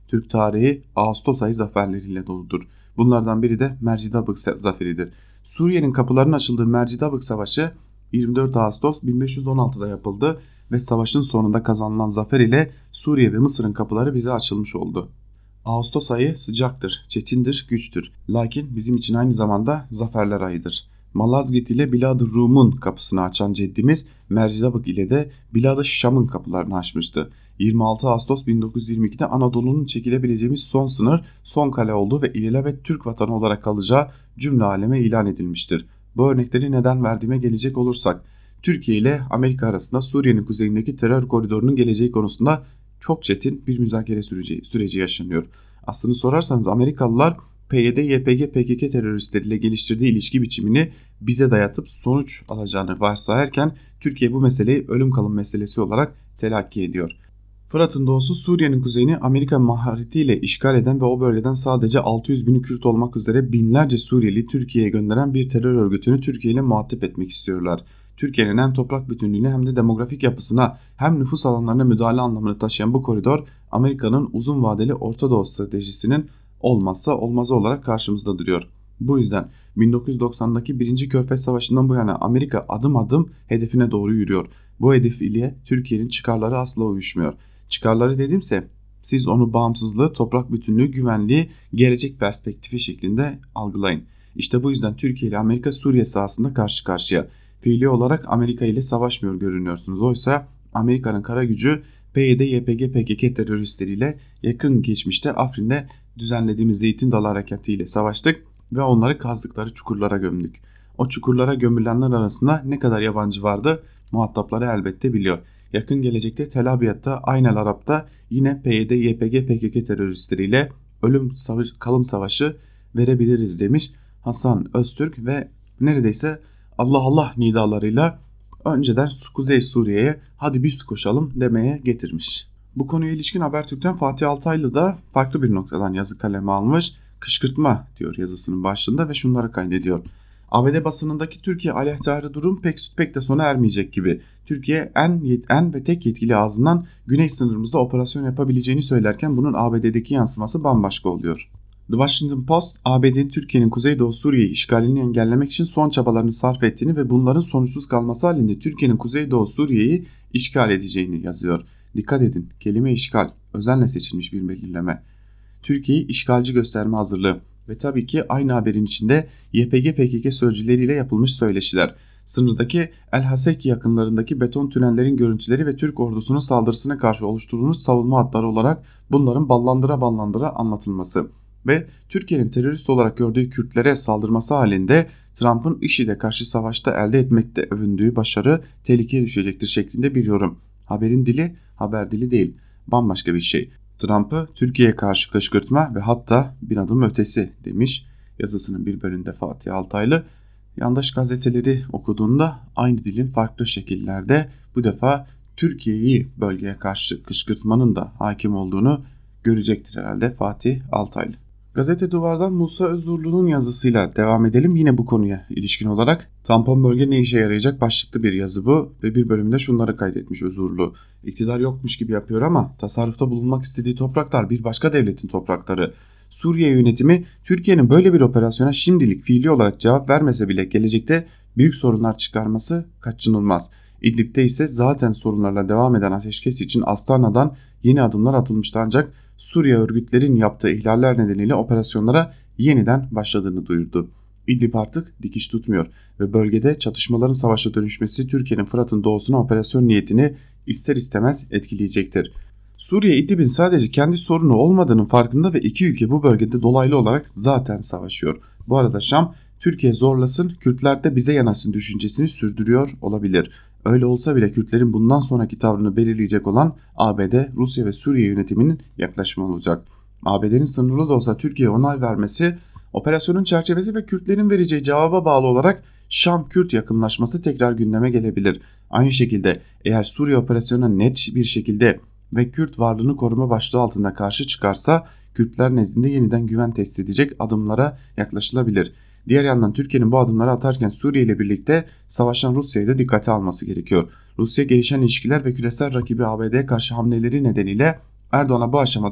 Türk tarihi Ağustos ayı zaferleriyle doludur. Bunlardan biri de Mercidabık zaferidir. Suriye'nin kapılarının açıldığı Mercidabık Savaşı 24 Ağustos 1516'da yapıldı ve savaşın sonunda kazanılan zafer ile Suriye ve Mısır'ın kapıları bize açılmış oldu. Ağustos ayı sıcaktır, çetindir, güçtür. Lakin bizim için aynı zamanda zaferler ayıdır. Malazgirt ile Bilad-ı Rum'un kapısını açan ceddimiz Mercidabık ile de Bilad-ı Şam'ın kapılarını açmıştı. 26 Ağustos 1922'de Anadolu'nun çekilebileceğimiz son sınır, son kale olduğu ve ilelebet Türk vatanı olarak kalacağı cümle aleme ilan edilmiştir. Bu örnekleri neden verdiğime gelecek olursak, Türkiye ile Amerika arasında Suriye'nin kuzeyindeki terör koridorunun geleceği konusunda çok çetin bir müzakere süreci yaşanıyor. Aslını sorarsanız Amerikalılar PYD, YPG, PKK teröristleriyle geliştirdiği ilişki biçimini bize dayatıp sonuç alacağını varsayarken Türkiye bu meseleyi ölüm kalım meselesi olarak telakki ediyor. Fırat'ın doğusu Suriye'nin kuzeyini Amerika maharetiyle işgal eden ve o bölgeden sadece 600 bini Kürt olmak üzere binlerce Suriyeli Türkiye'ye gönderen bir terör örgütünü Türkiye ile muhatap etmek istiyorlar. Türkiye'nin hem toprak bütünlüğüne hem de demografik yapısına hem nüfus alanlarına müdahale anlamını taşıyan bu koridor Amerika'nın uzun vadeli Orta Doğu stratejisinin olmazsa olmazı olarak karşımızda duruyor. Bu yüzden 1990'daki 1. Körfez Savaşı'ndan bu yana Amerika adım adım hedefine doğru yürüyor. Bu hedef ile Türkiye'nin çıkarları asla uyuşmuyor. Çıkarları dedimse siz onu bağımsızlığı, toprak bütünlüğü, güvenliği, gelecek perspektifi şeklinde algılayın. İşte bu yüzden Türkiye ile Amerika Suriye sahasında karşı karşıya. Fiili olarak Amerika ile savaşmıyor görünüyorsunuz. Oysa Amerika'nın kara gücü PYD, YPG, PKK teröristleriyle yakın geçmişte Afrin'de düzenlediğimiz Zeytin Dalı Harekatı ile savaştık ve onları kazdıkları çukurlara gömdük. O çukurlara gömülenler arasında ne kadar yabancı vardı muhatapları elbette biliyor. Yakın gelecekte Tel Abyad'da, Aynel Arap'ta yine PYD, YPG, PKK teröristleriyle ölüm kalım savaşı verebiliriz demiş Hasan Öztürk ve neredeyse Allah Allah nidalarıyla önceden Kuzey Suriye'ye hadi biz koşalım demeye getirmiş. Bu konuya ilişkin Habertürk'ten Fatih Altaylı da farklı bir noktadan yazı kaleme almış. Kışkırtma diyor yazısının başlığında ve şunları kaydediyor. ABD basınındaki Türkiye aleyhtarı durum pek de sona ermeyecek gibi. Türkiye en ve tek yetkili ağzından güney sınırımızda operasyon yapabileceğini söylerken bunun ABD'deki yansıması bambaşka oluyor. The Washington Post, ABD'nin Türkiye'nin Kuzeydoğu Suriye işgalini engellemek için son çabalarını sarf ettiğini ve bunların sonuçsuz kalması halinde Türkiye'nin Kuzeydoğu Suriye'yi işgal edeceğini yazıyor. Dikkat edin, kelime işgal, özenle seçilmiş bir belirleme. Türkiye'yi işgalci gösterme hazırlığı ve tabii ki aynı haberin içinde YPG-PKK sözcüleriyle yapılmış söyleşiler. Sınırdaki El Haseki yakınlarındaki beton tünellerin görüntüleri ve Türk ordusunun saldırısına karşı oluşturulmuş savunma hatları olarak bunların ballandıra anlatılması ve Türkiye'nin terörist olarak gördüğü Kürtlere saldırması halinde Trump'ın IŞİD'e karşı savaşta elde etmekte övündüğü başarı tehlikeye düşecektir şeklinde bir yorum. Haberin dili haber dili değil, bambaşka bir şey. Trump'ı Türkiye'ye karşı kışkırtma ve hatta bir adım ötesi demiş yazısının bir bölümünde Fatih Altaylı. Yandaş gazeteleri okuduğunda aynı dilin farklı şekillerde bu defa Türkiye'yi bölgeye karşı kışkırtmanın da hakim olduğunu görecektir herhalde Fatih Altaylı. Gazete Duvar'dan Musa Özurlu'nun yazısıyla devam edelim. Yine bu konuya ilişkin olarak tampon bölge ne işe yarayacak başlıklı bir yazı bu ve bir bölümde şunları kaydetmiş Özurlu. İktidar yokmuş gibi yapıyor ama tasarrufta bulunmak istediği topraklar bir başka devletin toprakları. Suriye yönetimi Türkiye'nin böyle bir operasyona şimdilik fiili olarak cevap vermese bile gelecekte büyük sorunlar çıkarması kaçınılmaz. İdlib'de ise zaten sorunlarla devam eden ateşkes için Astana'dan yeni adımlar atılmıştı ancak Suriye örgütlerin yaptığı ihlaller nedeniyle operasyonlara yeniden başladığını duyurdu. İdlib artık dikiş tutmuyor ve bölgede çatışmaların savaşa dönüşmesi Türkiye'nin Fırat'ın doğusuna operasyon niyetini ister istemez etkileyecektir. Suriye İdlib'in sadece kendi sorunu olmadığının farkında ve iki ülke bu bölgede dolaylı olarak zaten savaşıyor. Bu arada Şam Türkiye zorlasın, Kürtler de bize yanaşsın düşüncesini sürdürüyor olabilir. Öyle olsa bile Kürtlerin bundan sonraki tavrını belirleyecek olan ABD, Rusya ve Suriye yönetiminin yaklaşımı olacak. ABD'nin sınırlı da olsa Türkiye'ye onay vermesi, operasyonun çerçevesi ve Kürtlerin vereceği cevaba bağlı olarak Şam-Kürt yakınlaşması tekrar gündeme gelebilir. Aynı şekilde eğer Suriye operasyonuna net bir şekilde ve Kürt varlığını koruma başlığı altında karşı çıkarsa Kürtler nezdinde yeniden güven test edecek adımlara yaklaşılabilir. Diğer yandan Türkiye'nin bu adımları atarken Suriye ile birlikte savaşan Rusya'yı da dikkate alması gerekiyor. Rusya gelişen ilişkiler ve küresel rakibi ABD'ye karşı hamleleri nedeniyle Erdoğan'a bu aşamada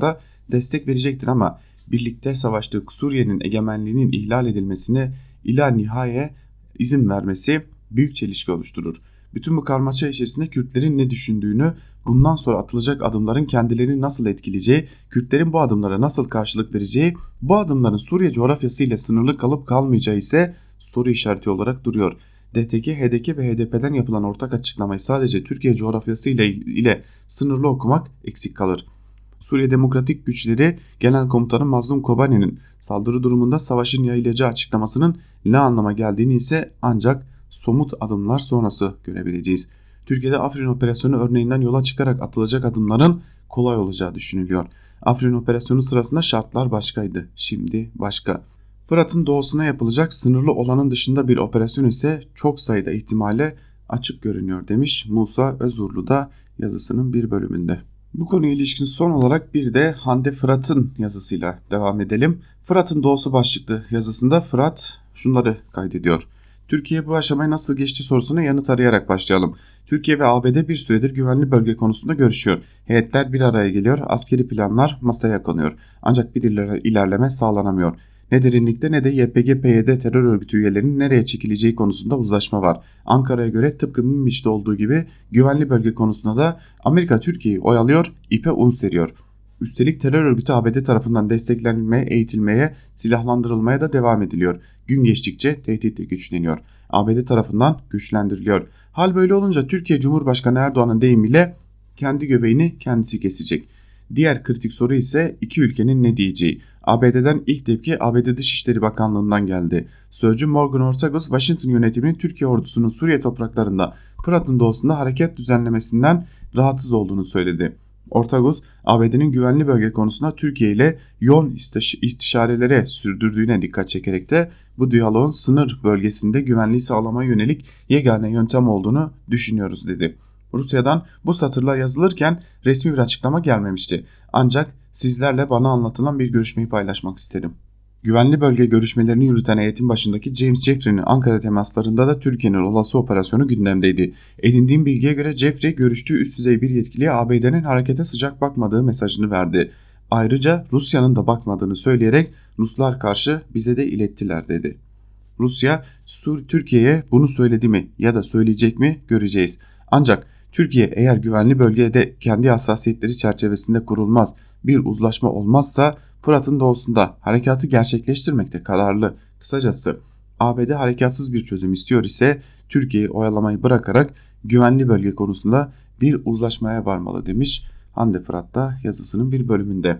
destek verecektir ama birlikte savaştığı Suriye'nin egemenliğinin ihlal edilmesine ila nihaya izin vermesi büyük çelişki oluşturur. Bütün bu karmaşa içerisinde Kürtlerin ne düşündüğünü, bundan sonra atılacak adımların kendilerini nasıl etkileyeceği, Kürtlerin bu adımlara nasıl karşılık vereceği, bu adımların Suriye coğrafyası ile sınırlı kalıp kalmayacağı ise soru işareti olarak duruyor. DTK, HDP ve HDP'den yapılan ortak açıklamayı sadece Türkiye coğrafyası ile sınırlı okumak eksik kalır. Suriye Demokratik Güçleri Genel Komutanı Mazlum Kobani'nin saldırı durumunda savaşın yayılacağı açıklamasının ne anlama geldiğini ise ancak somut adımlar sonrası görebileceğiz. Türkiye'de Afrin Operasyonu örneğinden yola çıkarak atılacak adımların kolay olacağı düşünülüyor. Afrin Operasyonu sırasında şartlar başkaydı, şimdi başka. Fırat'ın doğusuna yapılacak sınırlı olanın dışında bir operasyon ise çok sayıda ihtimale açık görünüyor demiş Musa Özurlu da yazısının bir bölümünde. Bu konuya ilişkin son olarak bir de Hande Fırat'ın yazısıyla devam edelim. Fırat'ın doğusu başlıklı yazısında Fırat şunları kaydediyor. Türkiye bu aşamayı nasıl geçti sorusuna yanıt arayarak başlayalım. Türkiye ve ABD bir süredir güvenli bölge konusunda görüşüyor. Heyetler bir araya geliyor, askeri planlar masaya konuyor. Ancak bir ilerleme sağlanamıyor. Ne derinlikte ne de YPG-PYD terör örgütü üyelerinin nereye çekileceği konusunda uzlaşma var. Ankara'ya göre tıpkı Münbiş'te olduğu gibi güvenli bölge konusunda da Amerika Türkiye'yi oyalıyor, ipe un seriyor. Üstelik terör örgütü ABD tarafından desteklenmeye, eğitilmeye, silahlandırılmaya da devam ediliyor. Gün geçtikçe tehdit de güçleniyor. ABD tarafından güçlendiriliyor. Hal böyle olunca Türkiye Cumhurbaşkanı Erdoğan'ın deyimiyle kendi göbeğini kendisi kesecek. Diğer kritik soru ise iki ülkenin ne diyeceği. ABD'den ilk tepki ABD Dışişleri Bakanlığı'ndan geldi. Sözcü Morgan Ortagus, Washington yönetiminin Türkiye ordusunun Suriye topraklarında Fırat'ın doğusunda hareket düzenlemesinden rahatsız olduğunu söyledi. Ortagus, ABD'nin güvenli bölge konusunda Türkiye ile yoğun istişarelere sürdürdüğüne dikkat çekerek de bu diyaloğun sınır bölgesinde güvenliği sağlamaya yönelik yegane yöntem olduğunu düşünüyoruz dedi. Rusya'dan bu satırlar yazılırken resmi bir açıklama gelmemişti. Ancak sizlerle bana anlatılan bir görüşmeyi paylaşmak isterim. Güvenli bölge görüşmelerini yürüten heyetin başındaki James Jeffrey'nin Ankara temaslarında da Türkiye'nin olası operasyonu gündemdeydi. Edindiğim bilgiye göre Jeffrey görüştüğü üst düzey bir yetkiliye ABD'nin harekete sıcak bakmadığı mesajını verdi. Ayrıca Rusya'nın da bakmadığını söyleyerek Ruslar karşı bize de ilettiler dedi. Rusya, Türkiye'ye bunu söyledi mi ya da söyleyecek mi göreceğiz. Ancak Türkiye eğer güvenli bölgede kendi hassasiyetleri çerçevesinde kurulmaz, bir uzlaşma olmazsa Fırat'ın doğusunda harekatı gerçekleştirmekte kararlı. Kısacası ABD harekatsız bir çözüm istiyor ise Türkiye'yi oyalamayı bırakarak güvenli bölge konusunda bir uzlaşmaya varmalı demiş Hande Fırat da yazısının bir bölümünde.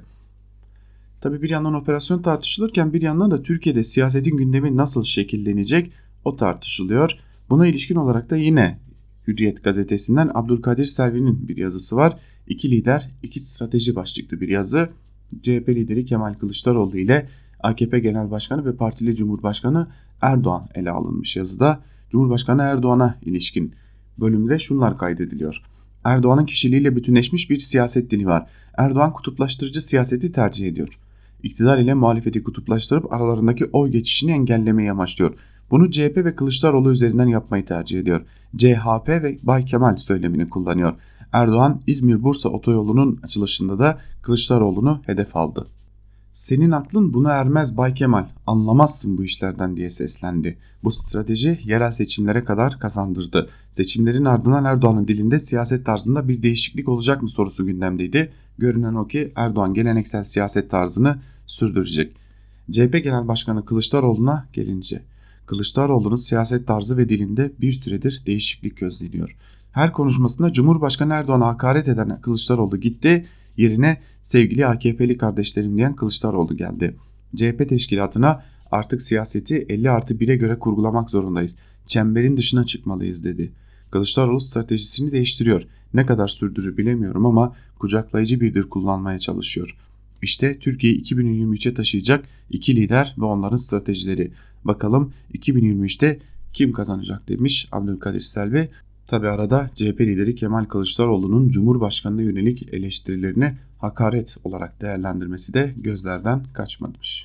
Tabi bir yandan operasyon tartışılırken bir yandan da Türkiye'de siyasetin gündemi nasıl şekillenecek o tartışılıyor. Buna ilişkin olarak da yine Hürriyet gazetesinden Abdülkadir Selvi'nin bir yazısı var. İki lider, iki strateji başlıklı bir yazı. CHP lideri Kemal Kılıçdaroğlu ile AKP Genel Başkanı ve Partili Cumhurbaşkanı Erdoğan ele alınmış yazıda. Cumhurbaşkanı Erdoğan'a ilişkin bölümde şunlar kaydediliyor. Erdoğan'ın kişiliğiyle bütünleşmiş bir siyaset dili var. Erdoğan kutuplaştırıcı siyaseti tercih ediyor. İktidar ile muhalefeti kutuplaştırıp aralarındaki oy geçişini engellemeyi amaçlıyor. Bunu CHP ve Kılıçdaroğlu üzerinden yapmayı tercih ediyor. CHP ve Bay Kemal söylemini kullanıyor. Erdoğan İzmir-Bursa otoyolunun açılışında da Kılıçdaroğlu'nu hedef aldı. Senin aklın buna ermez Bay Kemal, anlamazsın bu işlerden diye seslendi. Bu strateji yerel seçimlere kadar kazandırdı. Seçimlerin ardından Erdoğan'ın dilinde siyaset tarzında bir değişiklik olacak mı sorusu gündemdeydi. Görünen o ki Erdoğan geleneksel siyaset tarzını sürdürecek. CHP Genel Başkanı Kılıçdaroğlu'na gelince, Kılıçdaroğlu'nun siyaset tarzı ve dilinde bir süredir değişiklik gözleniyor. Her konuşmasında Cumhurbaşkanı Erdoğan'a hakaret eden Kılıçdaroğlu gitti, yerine sevgili AKP'li kardeşlerim diyen Kılıçdaroğlu geldi. CHP teşkilatına artık siyaseti 50+1'e göre kurgulamak zorundayız. Çemberin dışına çıkmalıyız dedi. Kılıçdaroğlu stratejisini değiştiriyor. Ne kadar sürdürür bilemiyorum ama kucaklayıcı bir dil kullanmaya çalışıyor. İşte Türkiye'yi 2023'e taşıyacak iki lider ve onların stratejileri. Bakalım 2023'te kim kazanacak demiş Abdülkadir Selvi. Tabi arada CHP lideri Kemal Kılıçdaroğlu'nun Cumhurbaşkanı'na yönelik eleştirilerini hakaret olarak değerlendirmesi de gözlerden kaçmamış.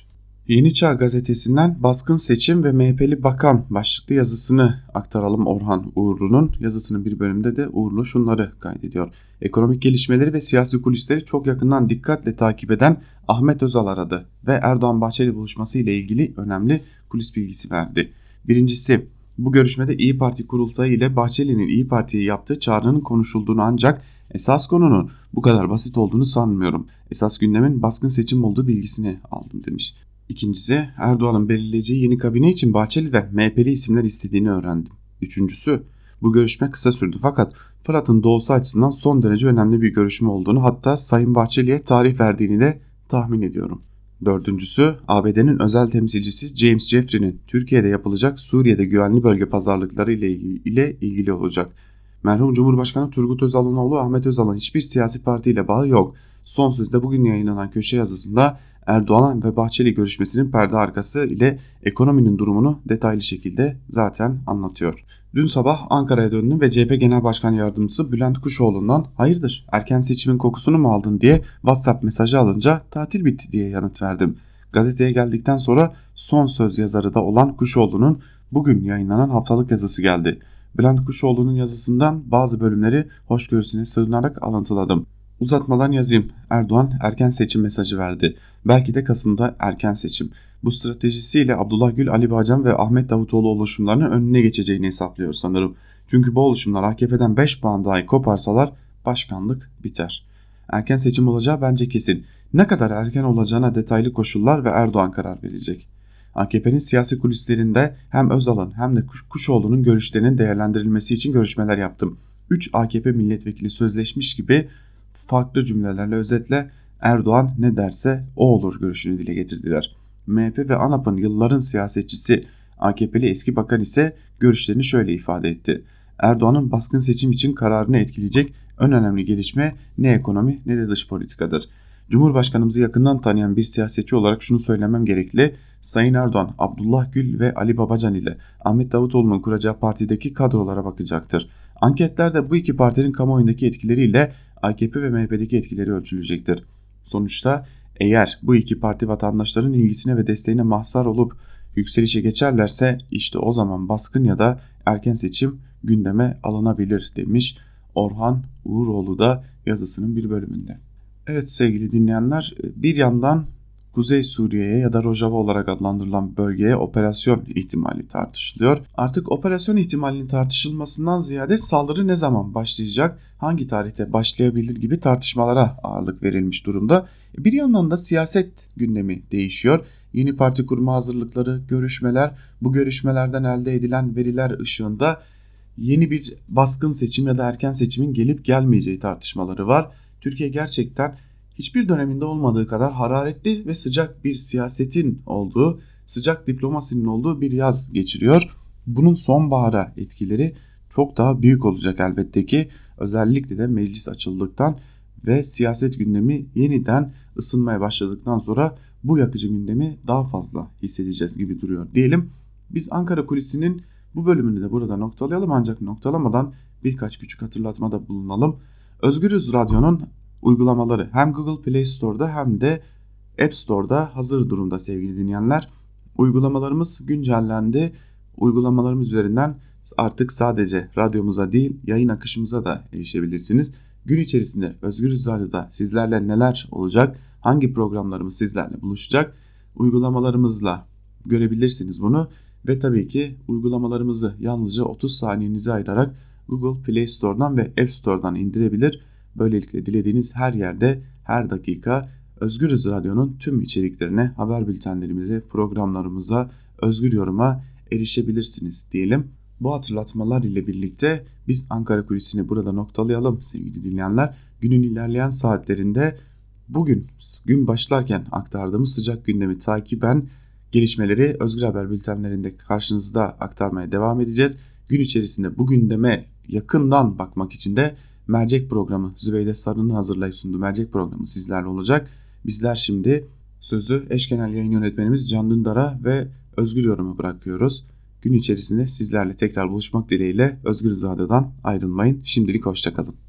Yeni Çağ gazetesinden baskın seçim ve MHP'li bakan başlıklı yazısını aktaralım. Orhan Uğurlu'nun yazısının bir bölümünde de Uğurlu şunları kaydediyor. Ekonomik gelişmeleri ve siyasi kulisleri çok yakından dikkatle takip eden Ahmet Özal aradı ve Erdoğan-Bahçeli buluşması ile ilgili önemli kulis bilgisi verdi. Birincisi, bu görüşmede İyi Parti kurultayı ile Bahçeli'nin İyi Parti'ye yaptığı çağrının konuşulduğunu, ancak esas konunun bu kadar basit olduğunu sanmıyorum. Esas gündemin baskın seçim olduğu bilgisini aldım demiş. İkincisi, Erdoğan'ın belirleyeceği yeni kabine için Bahçeli'den MHP'li isimler istediğini öğrendim. Üçüncüsü, bu görüşme kısa sürdü fakat Fırat'ın doğusu açısından son derece önemli bir görüşme olduğunu, hatta Sayın Bahçeli'ye tarih verdiğini de tahmin ediyorum. Dördüncüsü, ABD'nin özel temsilcisi James Jeffrey'nin Türkiye'de yapılacak Suriye'de güvenli bölge pazarlıkları ile ilgili olacak. Merhum Cumhurbaşkanı Turgut Özal'ın oğlu Ahmet Özal'ın hiçbir siyasi partiyle bağı yok. Son sözde bugün yayınlanan köşe yazısında Erdoğan ve Bahçeli görüşmesinin perde arkası ile ekonominin durumunu detaylı şekilde zaten anlatıyor. Dün sabah Ankara'ya döndüm ve CHP Genel Başkan Yardımcısı Bülent Kuşoğlu'ndan "Hayırdır, erken seçimin kokusunu mu aldın?" diye WhatsApp mesajı alınca "tatil bitti" diye yanıt verdim. Gazeteye geldikten sonra son söz yazarı da olan Kuşoğlu'nun bugün yayınlanan haftalık yazısı geldi. Bülent Kuşoğlu'nun yazısından bazı bölümleri hoşgörüsüne sığınarak alıntıladım. Uzatmadan yazayım. Erdoğan erken seçim mesajı verdi. Belki de Kasım'da erken seçim. Bu stratejisiyle Abdullah Gül, Ali Babacan ve Ahmet Davutoğlu oluşumlarının önüne geçeceğini hesaplıyor sanırım. Çünkü bu oluşumlar AKP'den 5 puan dahi koparsalar başkanlık biter. Erken seçim olacağı bence kesin. Ne kadar erken olacağına detaylı koşullar ve Erdoğan karar verecek. AKP'nin siyasi kulislerinde hem Özal'ın hem de Kuşoğlu'nun görüşlerinin değerlendirilmesi için görüşmeler yaptım. 3 AKP milletvekili sözleşmiş gibi farklı cümlelerle özetle Erdoğan ne derse o olur görüşünü dile getirdiler. MHP ve ANAP'ın yılların siyasetçisi AKP'li eski bakan ise görüşlerini şöyle ifade etti. Erdoğan'ın baskın seçim için kararını etkileyecek en önemli gelişme ne ekonomi ne de dış politikadır. Cumhurbaşkanımızı yakından tanıyan bir siyasetçi olarak şunu söylemem gerekli. Sayın Erdoğan, Abdullah Gül ve Ali Babacan ile Ahmet Davutoğlu'nun kuracağı partideki kadrolara bakacaktır. Anketlerde bu iki partinin kamuoyundaki etkileriyle AKP ve MHP'deki etkileri ölçülecektir. Sonuçta eğer bu iki parti vatandaşların ilgisine ve desteğine mazhar olup yükselişe geçerlerse işte o zaman baskın ya da erken seçim gündeme alınabilir demiş Orhan Uğuroğlu da yazısının bir bölümünde. Evet sevgili dinleyenler, bir yandan Kuzey Suriye'ye ya da Rojava olarak adlandırılan bölgeye operasyon ihtimali tartışılıyor. Artık operasyon ihtimalinin tartışılmasından ziyade saldırı ne zaman başlayacak, hangi tarihte başlayabilir gibi tartışmalara ağırlık verilmiş durumda. Bir yandan da siyaset gündemi değişiyor. Yeni parti kurma hazırlıkları, görüşmeler, bu görüşmelerden elde edilen veriler ışığında yeni bir baskın seçim ya da erken seçimin gelip gelmeyeceği tartışmaları var. Türkiye gerçekten hiçbir döneminde olmadığı kadar hararetli ve sıcak bir siyasetin olduğu, sıcak diplomasinin olduğu bir yaz geçiriyor. Bunun sonbahara etkileri çok daha büyük olacak elbette ki. Özellikle de meclis açıldıktan ve siyaset gündemi yeniden ısınmaya başladıktan sonra bu yakıcı gündemi daha fazla hissedeceğiz gibi duruyor diyelim. Biz Ankara Kulisi'nin bu bölümünü de burada noktalayalım, ancak noktalamadan birkaç küçük hatırlatmada bulunalım. Özgürüz Radyo'nun uygulamaları hem Google Play Store'da hem de App Store'da hazır durumda sevgili dinleyenler. Uygulamalarımız güncellendi. Uygulamalarımız üzerinden artık sadece radyomuza değil yayın akışımıza da erişebilirsiniz. Gün içerisinde Özgürüz Radyo'da sizlerle neler olacak, hangi programlarımız sizlerle buluşacak, uygulamalarımızla görebilirsiniz bunu. Ve tabii ki uygulamalarımızı yalnızca 30 saniyenizi ayırarak Google Play Store'dan ve App Store'dan indirebilir. Böylelikle dilediğiniz her yerde, her dakika Özgürüz Radyo'nun tüm içeriklerine, haber bültenlerimize, programlarımıza, özgür yoruma erişebilirsiniz diyelim. Bu hatırlatmalar ile birlikte biz Ankara Kulisi'ni burada noktalayalım sevgili dinleyenler. Günün ilerleyen saatlerinde bugün gün başlarken aktardığımız sıcak gündemi takiben gelişmeleri Özgür Haber bültenlerinde karşınızda aktarmaya devam edeceğiz. Gün içerisinde bu gündeme yakından bakmak için de Mercek programı, Zübeyde Sarı'nın hazırlayıp sunduğu Mercek programı sizlerle olacak. Bizler şimdi sözü eş genel yayın yönetmenimiz Can Dündar'a ve Özgür Yorum'a bırakıyoruz. Gün içerisinde sizlerle tekrar buluşmak dileğiyle Özgür Radyo'dan ayrılmayın. Şimdilik hoşçakalın.